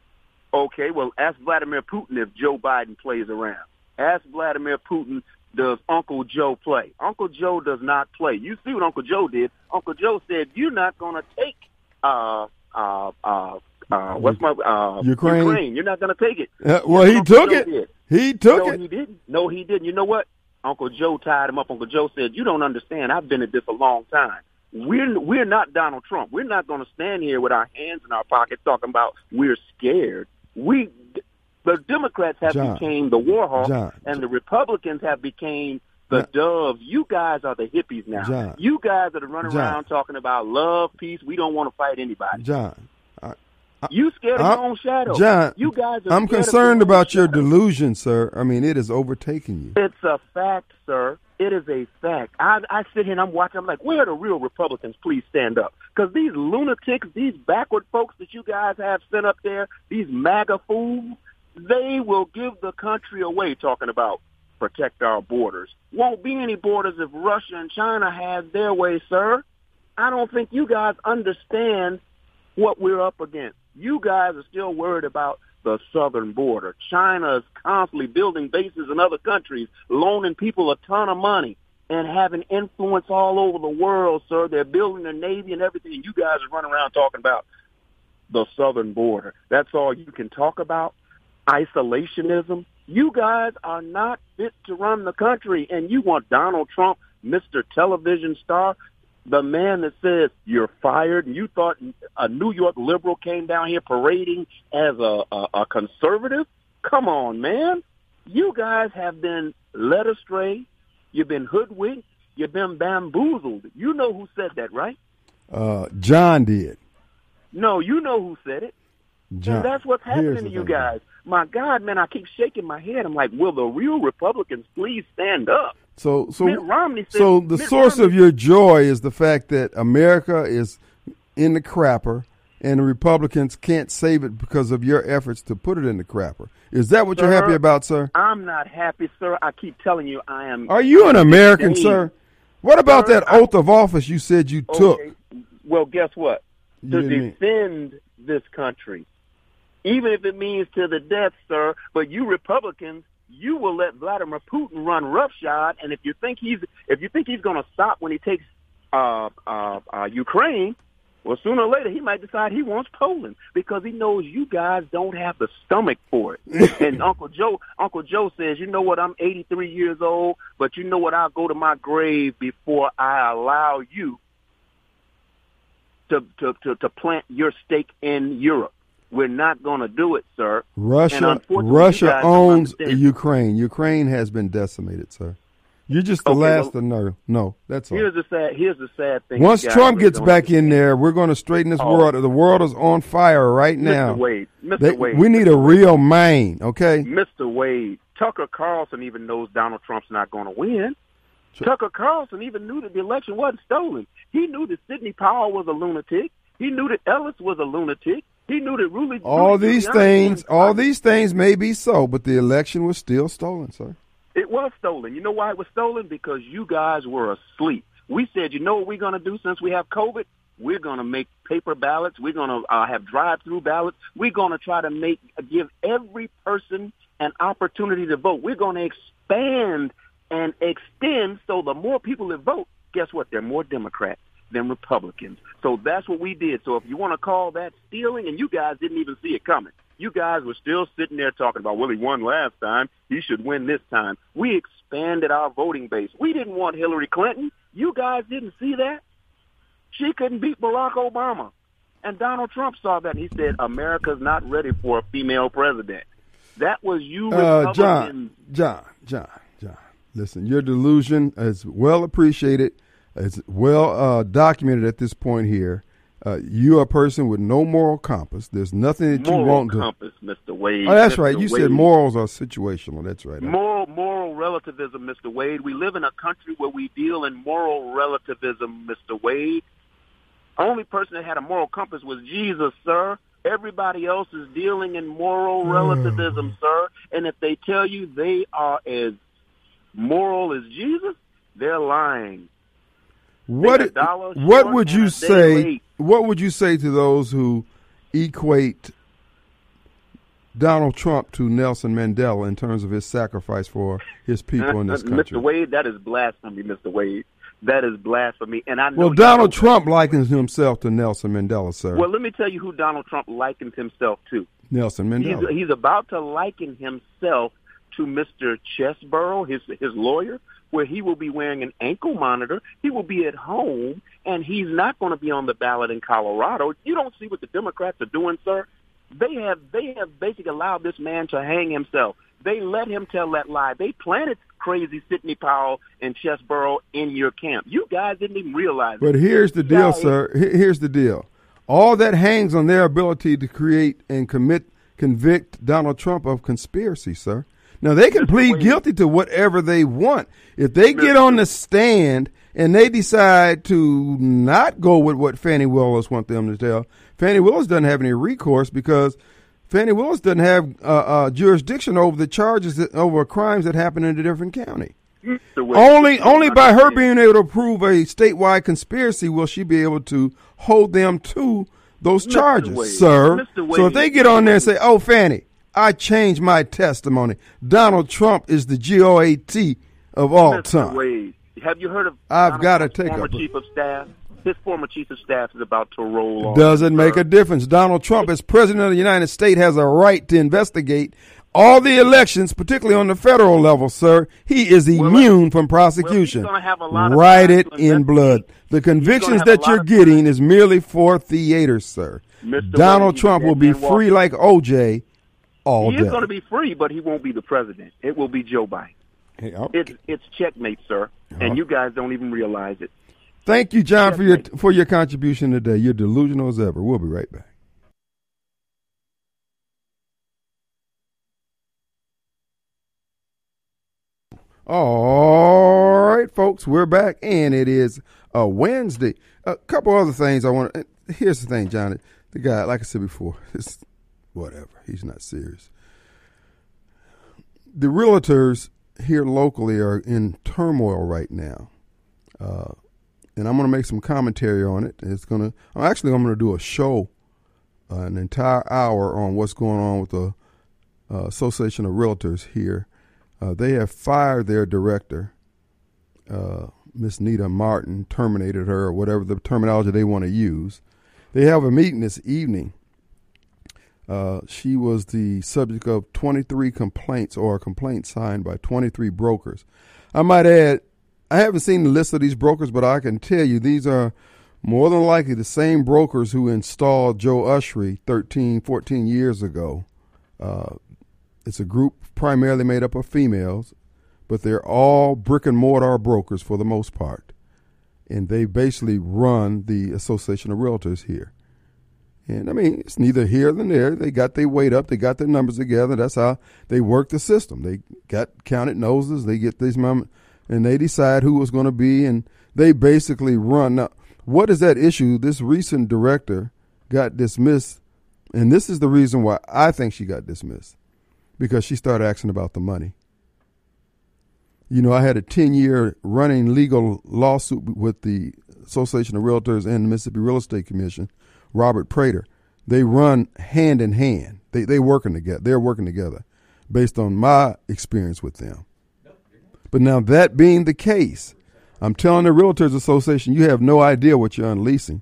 Okay, well, ask Vladimir Putin if Joe Biden plays around. Ask Vladimir Putin, does Uncle Joe play? Uncle Joe does not play. You see what Uncle Joe did. Uncle Joe said, you're not going to take, uh, uh, uh, uh, what's my, uh, Ukraine. Ukraine. You're not going to take it. Uh, well, That's he what Uncle took Joe it. did. He took no, it. he didn't. No, he didn't. You know what? Uncle Joe tied him up. Uncle Joe said, you don't understand. I've been at this a long time. We're, we're not Donald Trump. We're not going to stand here with our hands in our pockets talking about we're scared. We, the Democrats have John, become the war hawk, John, and the Republicans have become the John, doves. You guys are the hippies now. John, you guys are running John, around talking about love, peace. We don't want to fight anybody. John, You scared of I'm- your own shadow. John, you guys are I'm scared of concerned your own about your shadow. delusion, sir. I mean, it has overtaken you. It's a fact, sir. It is a fact. I, I sit here and I'm watching. I'm like, where are the real Republicans? Please stand up. Because these lunatics, these backward folks that you guys have sent up there, these MAGA fools, they will give the country away talking about protect our borders. Won't be any borders if Russia and China has their way, sir. I don't think you guys understand what we're up against. You guys are still worried about the southern border. China is constantly building bases in other countries, loaning people a ton of money and having influence all over the world, sir. They're building a navy and everything. You guys are running around talking about the southern border. That's all you can talk about. Isolationism. You guys are not fit to run the country, and you want Donald Trump, Mister Television Star, the man that says you're fired, and you thought a New York liberal came down here parading as a, a, a conservative? Come on, man. You guys have been led astray. You've been hoodwinked. You've been bamboozled. You know who said that, right? Uh, John did. No, you know who said it. John. And that's what's Here's happening the to you thing. guys. My God, man, I keep shaking my head. I'm like, will the real Republicans please stand up? So, so, Mitt Romney said, so the Mitt source Romney, of your joy is the fact that America is in the crapper, and the Republicans can't save it because of your efforts to put it in the crapper. Is that what you're Sir, happy about, sir? I'm not happy, sir. I keep telling you, I am. Are you an American, Dang. sir? What about Sir, that I- oath of office you said you took? Okay. Well, guess what? You To didn't mean- defend this country, even if it means to the death, sir. But you Republicans, you will let Vladimir Putin run roughshod, and if you think he's if you think he's going to stop when he takes uh, uh, uh, Ukraine, well, sooner or later he might decide he wants Poland because he knows you guys don't have the stomach for it. And Uncle Joe, Uncle Joe says, you know what? I'm eighty-three years old, but you know what? I'll go to my grave before I allow you to to to, to plant your stake in Europe. We're not going to do it, sir. And Russia, unfortunately, you Russia guys don't owns understand. Ukraine. Ukraine has been decimated, sir. You're just the Okay, last well, to know. No, that's all. Here's the sad. Here's the sad thing. Once you guys Trump really gets don't back in understand. there, we're going to straighten this Oh. world. The world is on fire right now. Mister Wade, Mister They- Wade, we need a real Maine, okay? Mister Wade, Tucker Carlson even knows Donald Trump's not going to win. Sure. Tucker Carlson even knew that the election wasn't stolen. He knew that Sidney Powell was a lunatic. He knew that Ellis was a lunatic. He knew that Rudy. All Rudy these Giuliani things, was- all these things may be so, but the election was still stolen, sir. It was stolen. You know why it was stolen? Because you guys were asleep. We said, you know what we're going to do since we have COVID? We're going to make paper ballots. We're going to uh, have drive-through ballots. We're going to try to make give every person an opportunity to vote. We're going to ex- expand and extend so the more people that vote, guess what? They're more Democrats than Republicans. So that's what we did. So if you want to call that stealing, and you guys didn't even see it coming. You guys were still sitting there talking about, well, he won last time. He should win this time. We expanded our voting base. We didn't want Hillary Clinton. You guys didn't see that? She couldn't beat Barack Obama. And Donald Trump saw that, and he said, America's not ready for a female president. That was you Uh, Republicans. John, John, John, John. Listen, your delusion is well appreciated. It's well uh, documented at this point here. Uh, you are a person with no moral compass. There's nothing that moral you want to. compass, Mister Wade. Oh, that's Mister right. You Wade. said morals are situational. That's right. Moral, moral relativism, Mister Wade. We live in a country where we deal in moral relativism, Mister Wade. Only person that had a moral compass was Jesus, sir. Everybody else is dealing in moral relativism, sir. And if they tell you they are as moral as Jesus, they're lying. What Take a dollar what short would and you a day say? late. What would you say to those who equate Donald Trump to Nelson Mandela in terms of his sacrifice for his people in this country? Mister Wade, that is blasphemy, Mister Wade. That is blasphemy. And I know Well, you Donald know Trump likens himself to Nelson Mandela, sir. Well, let me tell you who Donald Trump likens himself to. Nelson Mandela. He's, he's about to liken himself to Mister Chesborough, his his lawyer, where he will be wearing an ankle monitor. He will be at home, and he's not going to be on the ballot in Colorado. You don't see what the Democrats are doing, sir. They have they have basically allowed this man to hang himself. They let him tell that lie. They planted crazy Sidney Powell and Chesborough in your camp. You guys didn't even realize it. But here's the deal, Yeah, sir. Here- Here's the deal. All that hangs on their ability to create and commit, convict Donald Trump of conspiracy, sir. Now, they can Mister plead Wade. guilty to whatever they want. If they get on the stand and they decide to not go with what Fannie Willis want them to tell, Fannie Willis doesn't have any recourse because Fannie Willis doesn't have uh, uh, jurisdiction over the charges, that, over crimes that happen in a different county. Mister Wade, Only, you only don't by her understand. being able to prove a statewide conspiracy will she be able to hold them to those Mister charges, Wade, sir. Mister Wade, So if they get on there and say, "Oh, Fannie, I changed my testimony. Donald Trump is the G O A T of all Mister time." Wade, have you heard of I've Donald gotta Trump's take former up a- chief of staff? His former chief of staff is about to roll on. Doesn't make sir. a difference. Donald Trump, as president of the United States, has a right to investigate all the elections, particularly on the federal level, sir. He is Well, immune from prosecution. gonna have a lot of Write time it to in investigate. blood. The convictions have a that lot you're of getting is merely for theater, sir. Mister Donald Wade, Trump you will be can't walk- free like O J all He day. is going to be free, but he won't be the president. It will be Joe Biden. Hey, I'm- It's it's checkmate, sir, and you guys don't even realize it. Thank you, John, for your Checkmate. for your contribution today. You're delusional as ever. We'll be right back. All right, folks, we're back, and it is a Wednesday. A couple other things I want. Here's the thing, Johnny. The guy, like I said before, it's whatever. He's not serious. The realtors here locally are in turmoil right now. Uh, and I'm going to make some commentary on it. It's going to, I'm actually, I'm going to do a show, uh, an entire hour on what's going on with the uh, Association of Realtors here. Uh, they have fired their director, uh, Miss Nita Martin, terminated her, or whatever the terminology they want to use. They have a meeting this evening. Uh, she was the subject of twenty-three complaints, or a complaint signed by twenty-three brokers. I might add, I haven't seen the list of these brokers, but I can tell you these are more than likely the same brokers who installed Joe Ushery thirteen, fourteen years ago. Uh, it's a group primarily made up of females, but they're all brick and mortar brokers for the most part. And they basically run the Association of Realtors here. And I mean, it's neither here nor there. They got their weight up. They got their numbers together. That's how they work the system. They got counted noses. They get these mom, and they decide who was going to be, and they basically run. Now, what is that issue? This recent director got dismissed, and this is the reason why I think she got dismissed, because she started asking about the money. You know, I had a ten-year running legal lawsuit with the Association of Realtors and the Mississippi Real Estate Commission, Robert Prater. They run hand in hand. They they working together. They're working together based on my experience with them. But now that being the case, I'm telling the Realtors Association, you have no idea what you're unleashing.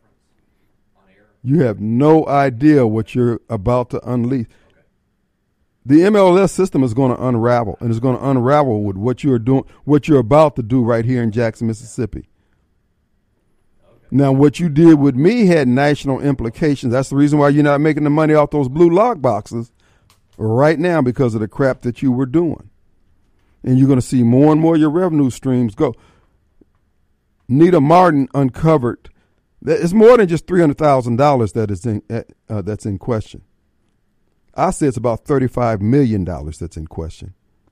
You have no idea what you're about to unleash. The M L S system is going to unravel, and it's going to unravel with what you're doing, what you're about to do right here in Jackson, Mississippi. Now, what you did with me had national implications. That's the reason why you're not making the money off those blue lock boxes right now, because of the crap that you were doing. And you're going to see more and more of your revenue streams go. Nita Martin uncovered that it's more than just three hundred thousand dollars that is in, uh, that's in question. I say it's about thirty-five million dollars that's in question.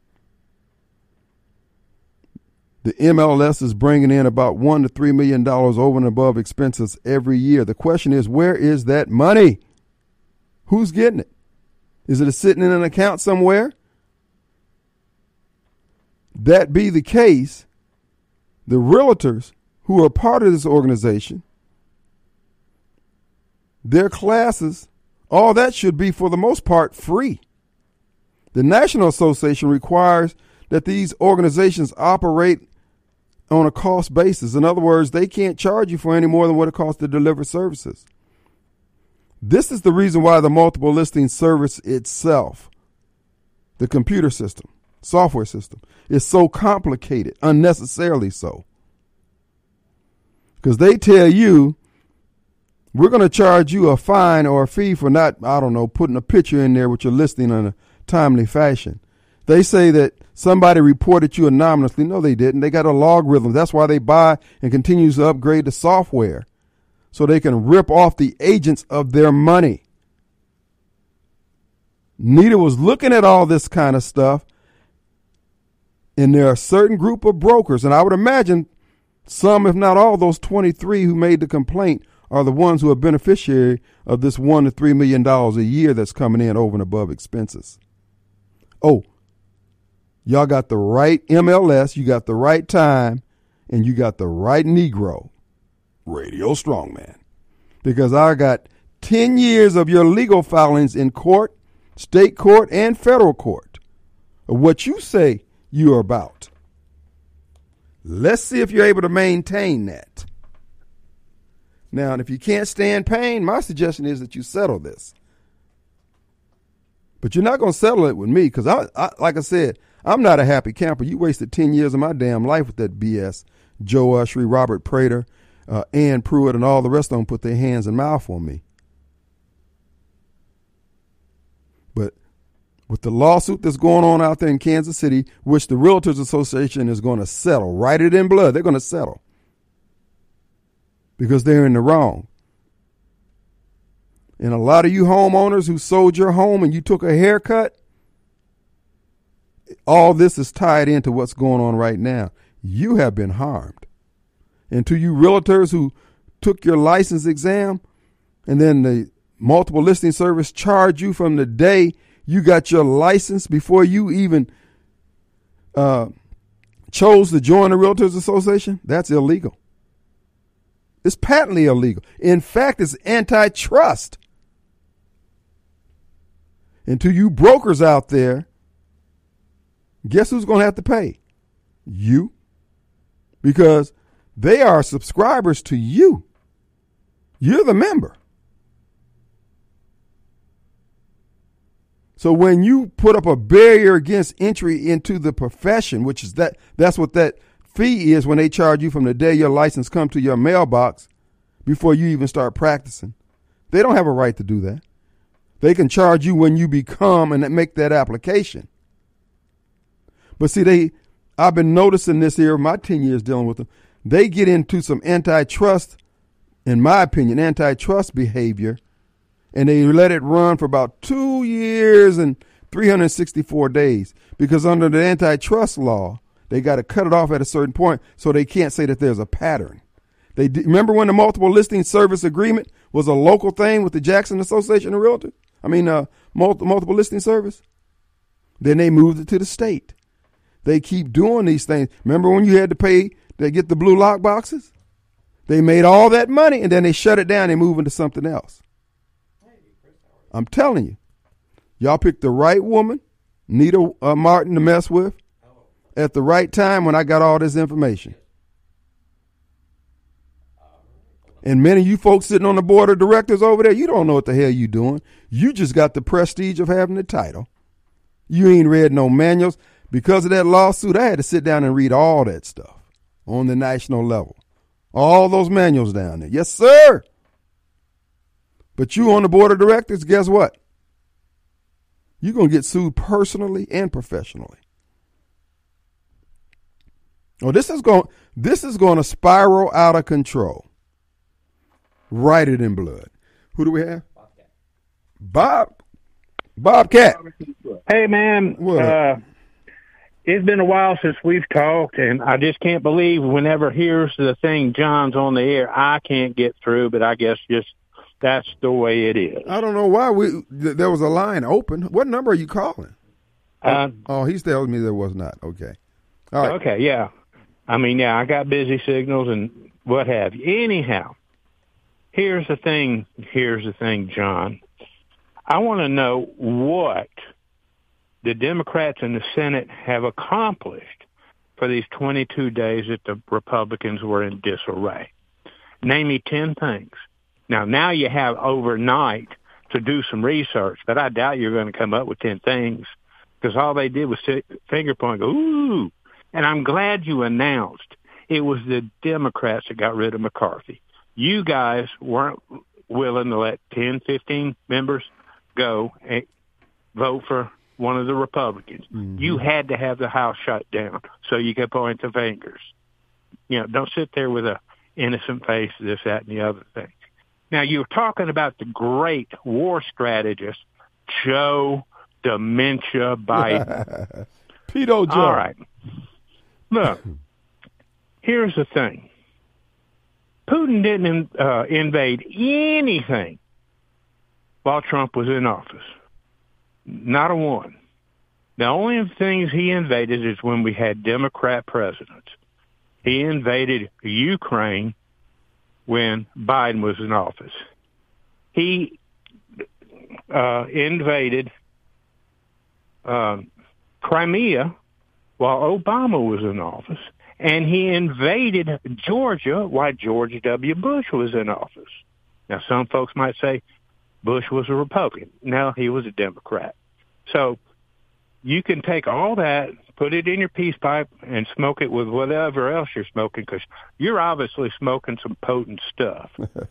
The M L S is bringing in about one to three million dollars over and above expenses every year. The question is, where is that money? Who's getting it? Is it sitting in an account somewhere? That be the case, the realtors who are part of this organization, their classes, all that should be, for the most part, free. The National Association requires that these organizations operate on a cost basis. In other words, they can't charge you for any more than what it costs to deliver services. This is the reason why the multiple listing service itself, the computer system, software system, is so complicated, unnecessarily so. Because they tell you, we're going to charge you a fine or a fee for not, I don't know, putting a picture in there with your listing in a timely fashion. They say that somebody reported you anonymously. No, they didn't. They got a logarithm. That's why they buy and continue to upgrade the software, so they can rip off the agents of their money. Nita was looking at all this kind of stuff, and there are a certain group of brokers, and I would imagine some, if not all, those twenty-three who made the complaint are the ones who are beneficiary of this one to three million dollars a year that's coming in over and above expenses. Oh, y'all got the right M L S, you got the right time, and you got the right Negro, Radio Strongman. Because I got ten years of your legal filings in court, state court, and federal court of what you say you're about. Let's see if you're able to maintain that. Now, and if you can't stand pain, my suggestion is that you settle this. But you're not going to settle it with me, because, I, I, like I said, I'm not a happy camper. You wasted ten years of my damn life with that B S. Joe Ushery, Robert Prater, uh, Ann Pruitt, and all the rest of them put their hands and mouth on me. But with the lawsuit that's going on out there in Kansas City, which the Realtors Association is going to settle, write it in blood, they're going to settle, because they're in the wrong. And a lot of you homeowners who sold your home and you took a haircut, all this is tied into what's going on right now. You have been harmed. And to you realtors who took your license exam and then the multiple listing service charged you from the day you got your license before you even uh, chose to join the Realtors Association, that's illegal. It's patently illegal. In fact, it's antitrust. And to you brokers out there, guess who's going to have to pay? You. Because they are subscribers to you. You're the member. So when you put up a barrier against entry into the profession, which is that, that's what that fee is when they charge you from the day your license comes to your mailbox before you even start practicing. They don't have a right to do that. They can charge you when you become and make that application. But see, they, I've been noticing this here, my ten years dealing with them. They get into some antitrust, in my opinion, antitrust behavior, and they let it run for about two years and three hundred sixty-four days. Because under the antitrust law, they got to cut it off at a certain point so they can't say that there's a pattern. They remember when the multiple listing service agreement was a local thing with the Jackson Association of Realtors? I mean, uh, multi- multiple listing service? Then they moved it to the state. They keep doing these things. Remember when you had to pay to get the blue lock boxes? They made all that money and then they shut it down and move into something else. I'm telling you, y'all picked the right woman, Nita uh, Martin, to mess with. at the right time when I got all this information. And many of you folks sitting on the board of directors over there, you don't know what the hell you doing. You just got the prestige of having the title. You ain't read no manuals. Because of that lawsuit, I had to sit down and read all that stuff on the national level. All those manuals down there. Yes, sir. But you on the board of directors, guess what? You're going to get sued personally and professionally. Oh, this is going this is going to spiral out of control. Write it in blood. Who do we have? Bob. Bobcat. Hey, man. What? Uh, it's been a while since we've talked, and I just can't believe whenever here's the thing, John's on the air, I can't get through, but I guess just that's the way it is. I don't know why we th- there was a line open. What number are you calling? Uh, oh, he's telling me there was not. Okay. All right. Okay, yeah. I mean, yeah, I got busy signals and what have you. Anyhow, here's the thing. Here's the thing, John. I want to know what the Democrats in the Senate have accomplished for these twenty-two days that the Republicans were in disarray. Name me ten things. Now, now you have overnight to do some research, but I doubt you're going to come up with ten things because all they did was sit, finger point, go, ooh. And I'm glad you announced it was the Democrats that got rid of McCarthy. You guys weren't willing to let ten, fifteen members go and vote for one of the Republicans. Mm-hmm. You had to have the House shut down so you could point the fingers. You know, don't sit there with a innocent face, this, that, and the other thing. Now, you're talking about the great war strategist, Joe Dementia Biden. Pedo Joe. All right. Look, here's the thing. Putin didn't uh, invade anything while Trump was in office. Not a one. The only things he invaded is when we had Democrat presidents. He invaded Ukraine when Biden was in office. He uh, invaded uh, Crimea while Obama was in office, and he invaded Georgia while George W. Bush was in office. Now, some folks might say Bush was a Republican. No, he was a Democrat. So you can take all that, put it in your peace pipe, and smoke it with whatever else you're smoking, because you're obviously smoking some potent stuff.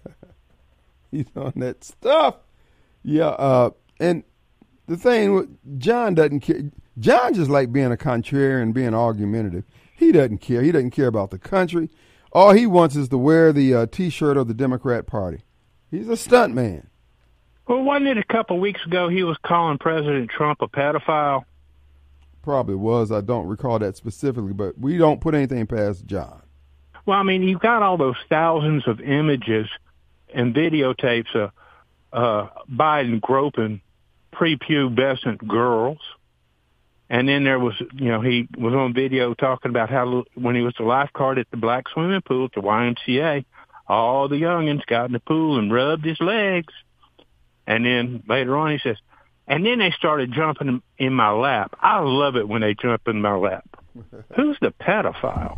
He's on that stuff. Yeah, uh, and the thing, John doesn't care. John just like being a contrarian, being argumentative. He doesn't care. He doesn't care about the country. All he wants is to wear the uh, T-shirt of the Democrat Party. He's a stunt man. Well, wasn't it a couple of weeks ago he was calling President Trump a pedophile? Probably was. I don't recall that specifically, but we don't put anything past John. Well, I mean, you've got all those thousands of images and videotapes of uh, Biden groping prepubescent girls. And then there was, you know, he was on video talking about how when he was the lifeguard at the black swimming pool at the Y M C A, all the youngins got in the pool and rubbed his legs. And then later on he says, and then they started jumping in my lap. I love it when they jump in my lap. Who's the pedophile?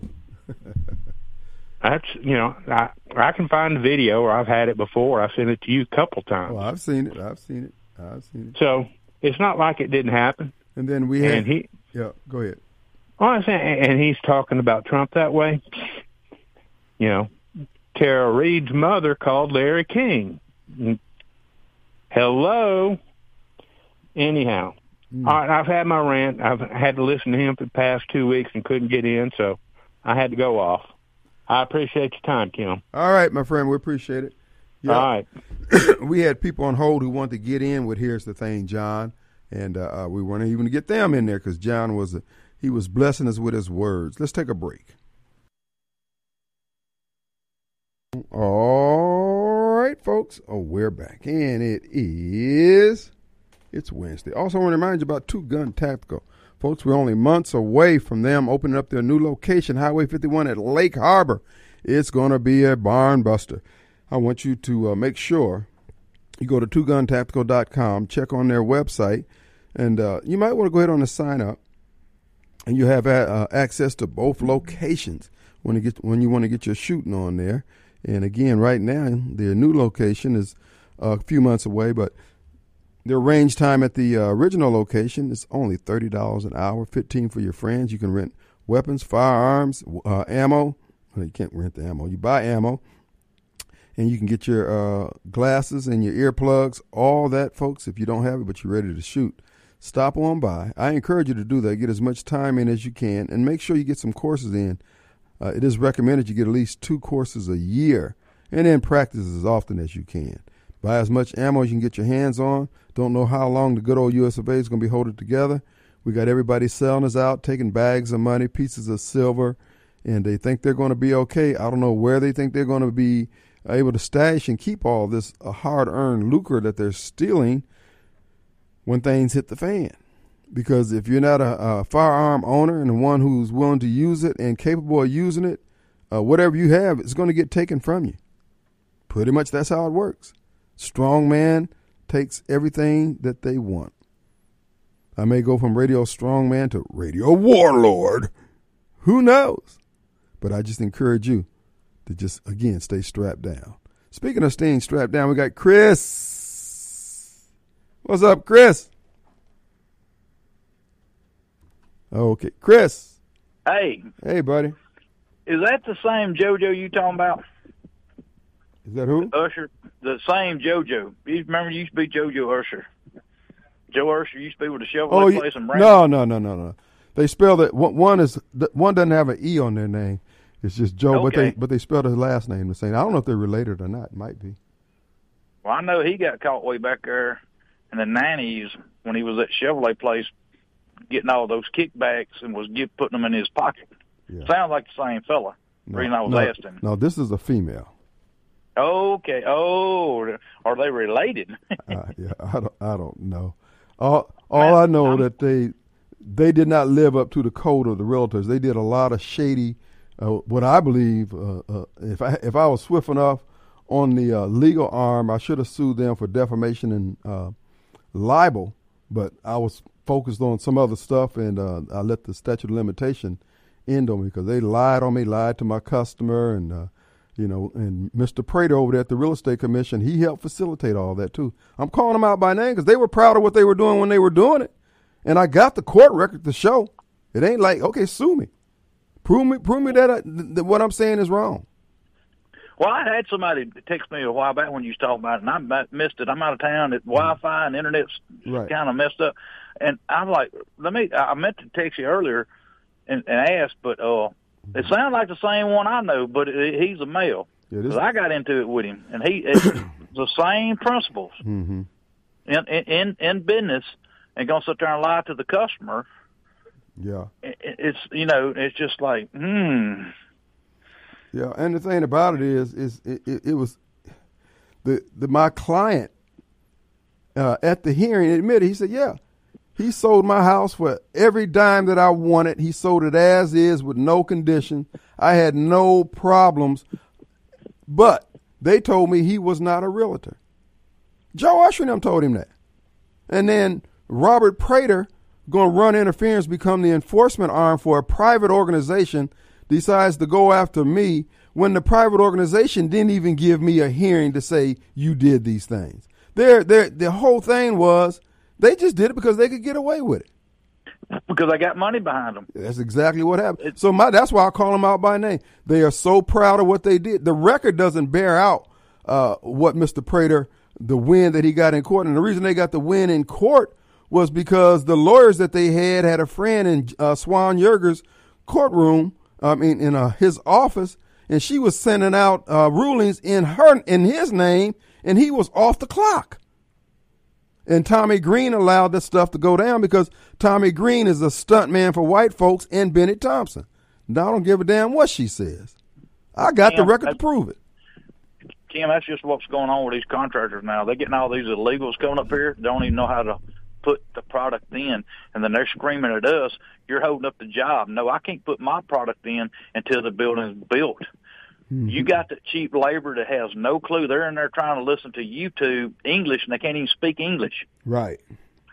That's, you know, I I can find the video, or I've had it before. I've sent it to you a couple times. Well, I've seen it. I've seen it. I've seen it. So it's not like it didn't happen. And then we had, and he, yeah, go ahead. Well, I'm saying, and he's talking about Trump that way. You know, Tara Reid's mother called Larry King. Hello. Anyhow, mm. all right, I've had my rant. I've had to listen to him for the past two weeks and couldn't get in, so I had to go off. I appreciate your time, Kim. All right, my friend, we appreciate it. Yeah. All right. We had people on hold who wanted to get in with Here's the Thing, John. And uh, we weren't even going to get them in there because John was a, he was blessing us with his words. Let's take a break. All right, folks. Oh, we're back. And it is, it's Wednesday. Also, I want to remind you about Two Gun Tactical. Folks, we're only months away from them opening up their new location, Highway fifty-one at Lake Harbor. It's going to be a barn buster. I want you to uh, make sure you go to two gun tactical dot com, check on their website, and uh, you might want to go ahead on and sign up. and you have uh, access to both locations when you get when you want to get your shooting on there. And again, right now, their new location is a few months away, but their range time at the uh, original location is only thirty dollars an hour, fifteen dollars for your friends. You can rent weapons, firearms, uh, ammo. Well, you can't rent the ammo. You buy ammo, and you can get your uh, glasses and your earplugs, all that, folks, if you don't have it, but you're ready to shoot. Stop on by. I encourage you to do that. Get as much time in as you can, and make sure you get some courses in. Uh, it is recommended you get at least two courses a year, and then practice as often as you can. Buy as much ammo as you can get your hands on. Don't know how long the good old U S of A is going to be holding together. We got everybody selling us out, taking bags of money, pieces of silver, and they think they're going to be okay. I don't know where they think they're going to be able to stash and keep all this uh, hard-earned lucre that they're stealing when things hit the fan. Because if you're not a, a firearm owner and the one who's willing to use it and capable of using it, uh, whatever you have is going to get taken from you. Pretty much that's how it works. Strong man takes everything that they want. I may go from radio strongman to radio warlord. Who knows? But I just encourage you to just, again, stay strapped down. Speaking of staying strapped down, we got Chris. What's up, Chris? Okay, Chris. Hey. Hey, buddy. Is that the same JoJo you talking about? Is that who? Usher. The same JoJo. You remember you used to be JoJo Usher. Joe Usher used to be with the Chevrolet oh, place in Brandon. No, no, no, no, no. They spelled it. One is one doesn't have an E on their name. It's just Joe, okay. but they but they spelled his last name the same. I don't know if they're related or not. It might be. Well, I know he got caught way back there in the nineties when he was at Chevrolet place getting all those kickbacks and was get, putting them in his pocket. Yeah. Sounds like the same fella. No, the reason I was no, asking. No, this is a female. Okay. Oh, are they related? uh, yeah, I don't. I don't know. All all I know I'm, that they they did not live up to the code of the realtors. They did a lot of shady. Uh, what I believe, uh, uh, if I if I was swift enough on the uh, legal arm, I should have sued them for defamation and uh, libel. But I was focused on some other stuff, and uh, I let the statute of limitation end on me because they lied on me, lied to my customer, and uh, you know, and Mister Prater over there at the Real Estate Commission, he helped facilitate all that too. I'm calling them out by name because they were proud of what they were doing when they were doing it, and I got the court record to show. It ain't like, okay, sue me, prove me, prove me that, I, that what I'm saying is wrong. Well, I had somebody text me a while back when you was talking about it, and I missed it. I'm out of town. It, Wi-Fi and internet's right. kind of messed up, and I'm like, let me. I meant to text you earlier and, and ask, but uh. It sounds like the same one I know, but it, he's a male. Yeah, Cause I got into it with him, and he it's the same principles mm-hmm. in, in in business, and gonna sit there and lie to the customer. Yeah, it, it's you know it's just like hmm. Yeah, and the thing about it is, is it, it, it was the the my client uh, at the hearing admitted. He said, yeah. He sold my house for every dime that I wanted. He sold it as is with no condition. I had no problems. But they told me he was not a realtor. Joe Usher and them told him that. And then Robert Prater, going to run interference, become the enforcement arm for a private organization, decides to go after me when the private organization didn't even give me a hearing to say you did these things. Their, their, the whole thing was, they just did it because they could get away with it. Because I got money behind them. That's exactly what happened. It's, so my, that's why I call them out by name. They are so proud of what they did. The record doesn't bear out uh, what Mister Prater, the win that he got in court. And the reason they got the win in court was because the lawyers that they had had a friend in uh, Swan Yerger's courtroom, I mean, in uh, his office, and she was sending out uh, rulings in her in his name, and he was off the clock. And Tommy Green allowed this stuff to go down because Tommy Green is a stunt man for white folks and Bennett Thompson. Now I don't give a damn what she says. I got Kim, the record to prove it. Kim, that's just what's going on with these contractors now. They're getting all these illegals coming up here, don't even know how to put the product in, and then they're screaming at us, you're holding up the job. No, I can't put my product in until the building is built. Mm-hmm. You got the cheap labor that has no clue. They're in there trying to listen to YouTube English, and they can't even speak English. Right.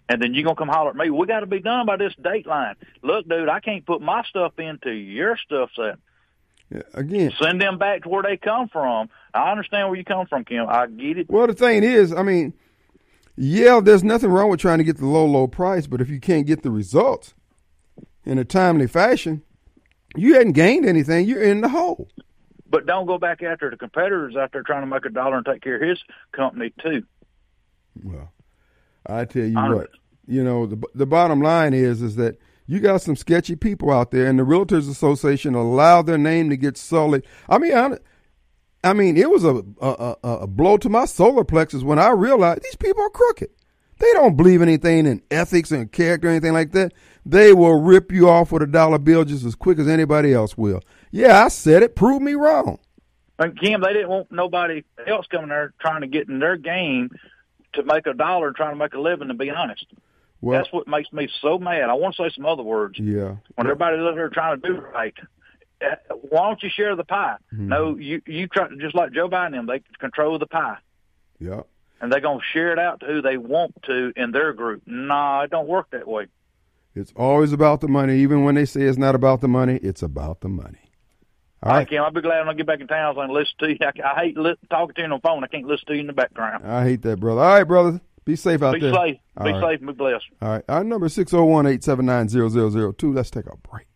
And then you're going to come holler at me, we got to be done by this date line. Look, dude, I can't put my stuff into your stuff set. Yeah, again, send them back to where they come from. I understand where you come from, Kim. I get it. Well, the thing is, I mean, yeah, there's nothing wrong with trying to get the low, low price, but if you can't get the results in a timely fashion, you hadn't gained anything. You're in the hole. But don't go back after the competitors out there trying to make a dollar and take care of his company, too. Well, I tell you what, you know, the the bottom line is is that you got some sketchy people out there, and the Realtors Association allowed their name to get sullied. I mean, I, I mean, it was a, a, a, a blow to my solar plexus when I realized these people are crooked. They don't believe anything in ethics and character or anything like that. They will rip you off with a dollar bill just as quick as anybody else will. Yeah, I said it. Prove me wrong. And Kim, they didn't want nobody else coming there trying to get in their game to make a dollar and trying to make a living, to be honest. Well, that's what makes me so mad. I want to say some other words. Yeah. When everybody's out there trying to do right, why don't you share the pie? Mm-hmm. No, you you try to, just like Joe Biden and them, they control the pie. Yeah. And they're going to share it out to who they want to in their group. Nah, it don't work that way. It's always about the money. Even when they say it's not about the money, it's about the money. All right, Kim, I'll be glad when I get back in town so I can listen to you. I, I hate li- talking to you on the phone. I can't listen to you in the background. I hate that, brother. All right, brother. Be safe out be there. Safe. All be right. safe. Be blessed. All right. Our number is six oh one, eight seven nine, zero zero zero two. Let's take a break.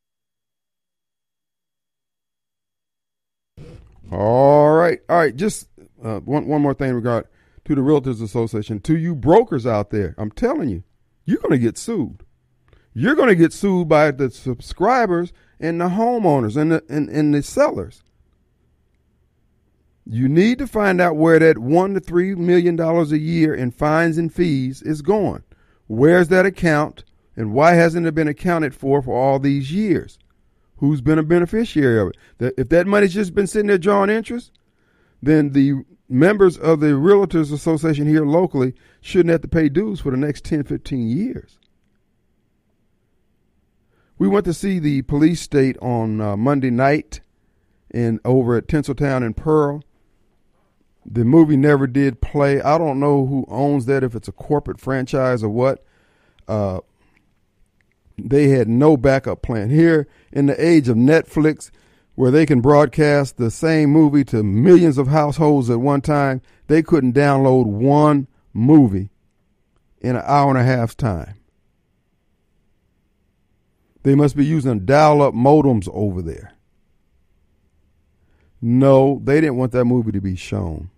All right. All right. Just uh, one, one more thing in regard to the Realtors Association. To you brokers out there, I'm telling you, you're going to get sued. You're going to get sued by the subscribers and the homeowners and the, and, and the sellers. You need to find out where that one to three million dollars a year in fines and fees is going. Where's that account, and why hasn't it been accounted for for all these years? Who's been a beneficiary of it? That if that money's just been sitting there drawing interest, then the members of the Realtors Association here locally shouldn't have to pay dues for the next ten, fifteen years. We went to see the police state on uh, Monday night in over at Tinseltown in Pearl. The movie never did play. I don't know who owns that, if it's a corporate franchise or what. Uh, they had no backup plan. Here in the age of Netflix, where they can broadcast the same movie to millions of households at one time, they couldn't download one movie in an hour and a half's time. They must be using dial-up modems over there. No, they didn't want that movie to be shown.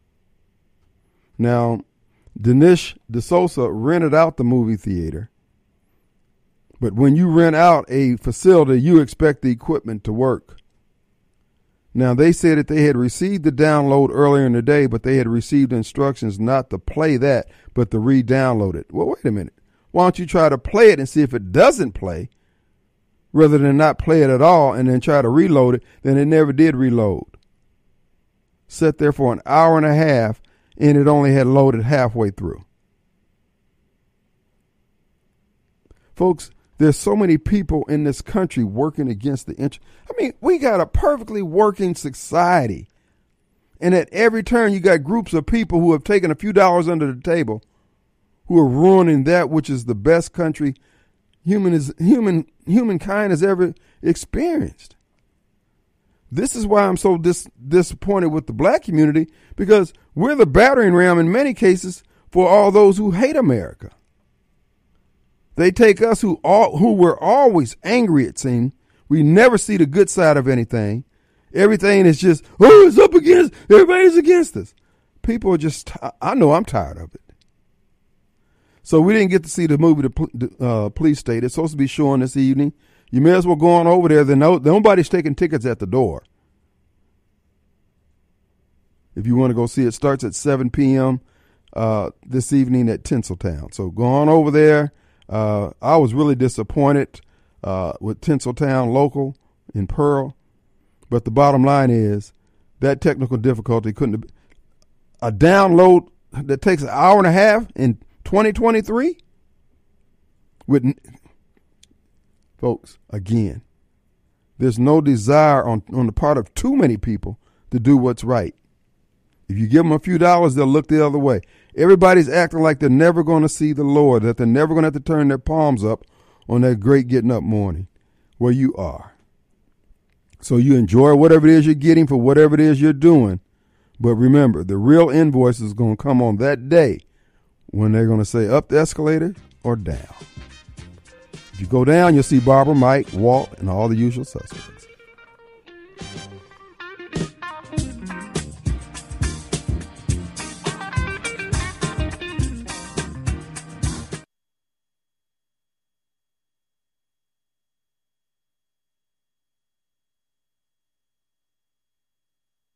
Now, Dinesh D'Souza rented out the movie theater. But when you rent out a facility, you expect the equipment to work. Now, they said that they had received the download earlier in the day, but they had received instructions not to play that, but to re-download it. Well, wait a minute. Why don't you try to play it and see if it doesn't play, rather than not play it at all and then try to reload it? Then it never did reload. Sat there for an hour and a half, and it only had loaded halfway through. Folks, there's so many people in this country working against the interest. I mean, we got a perfectly working society. And at every turn, you got groups of people who have taken a few dollars under the table, who are ruining that which is the best country human is human humankind has ever experienced. This is why I'm so dis- disappointed with the black community, because we're the battering ram in many cases for all those who hate America. They take us who all, who were always angry, it seems. We never see the good side of anything. Everything is just, oh, it's up against, everybody's against us. People are just, I know I'm tired of it. So we didn't get to see the movie, The uh, Police State. It's supposed to be showing this evening. You may as well go on over there. Then no, nobody's taking tickets at the door. If you want to go see it, it starts at seven p.m. Uh, this evening at Tinseltown. So go on over there. Uh, I was really disappointed uh, with Tinseltown local in Pearl. But the bottom line is that technical difficulty couldn't have, a download that takes an hour and a half in twenty twenty-three with, folks, again, there's no desire on, on the part of too many people to do what's right. If you give them a few dollars, they'll look the other way. Everybody's acting like they're never going to see the Lord, that they're never going to have to turn their palms up on that great getting up morning where you are. So you enjoy whatever it is you're getting for whatever it is you're doing. But remember, the real invoice is going to come on that day when they're going to say up the escalator or down. If you go down, you'll see Barbara, Mike, Walt, and all the usual suspects.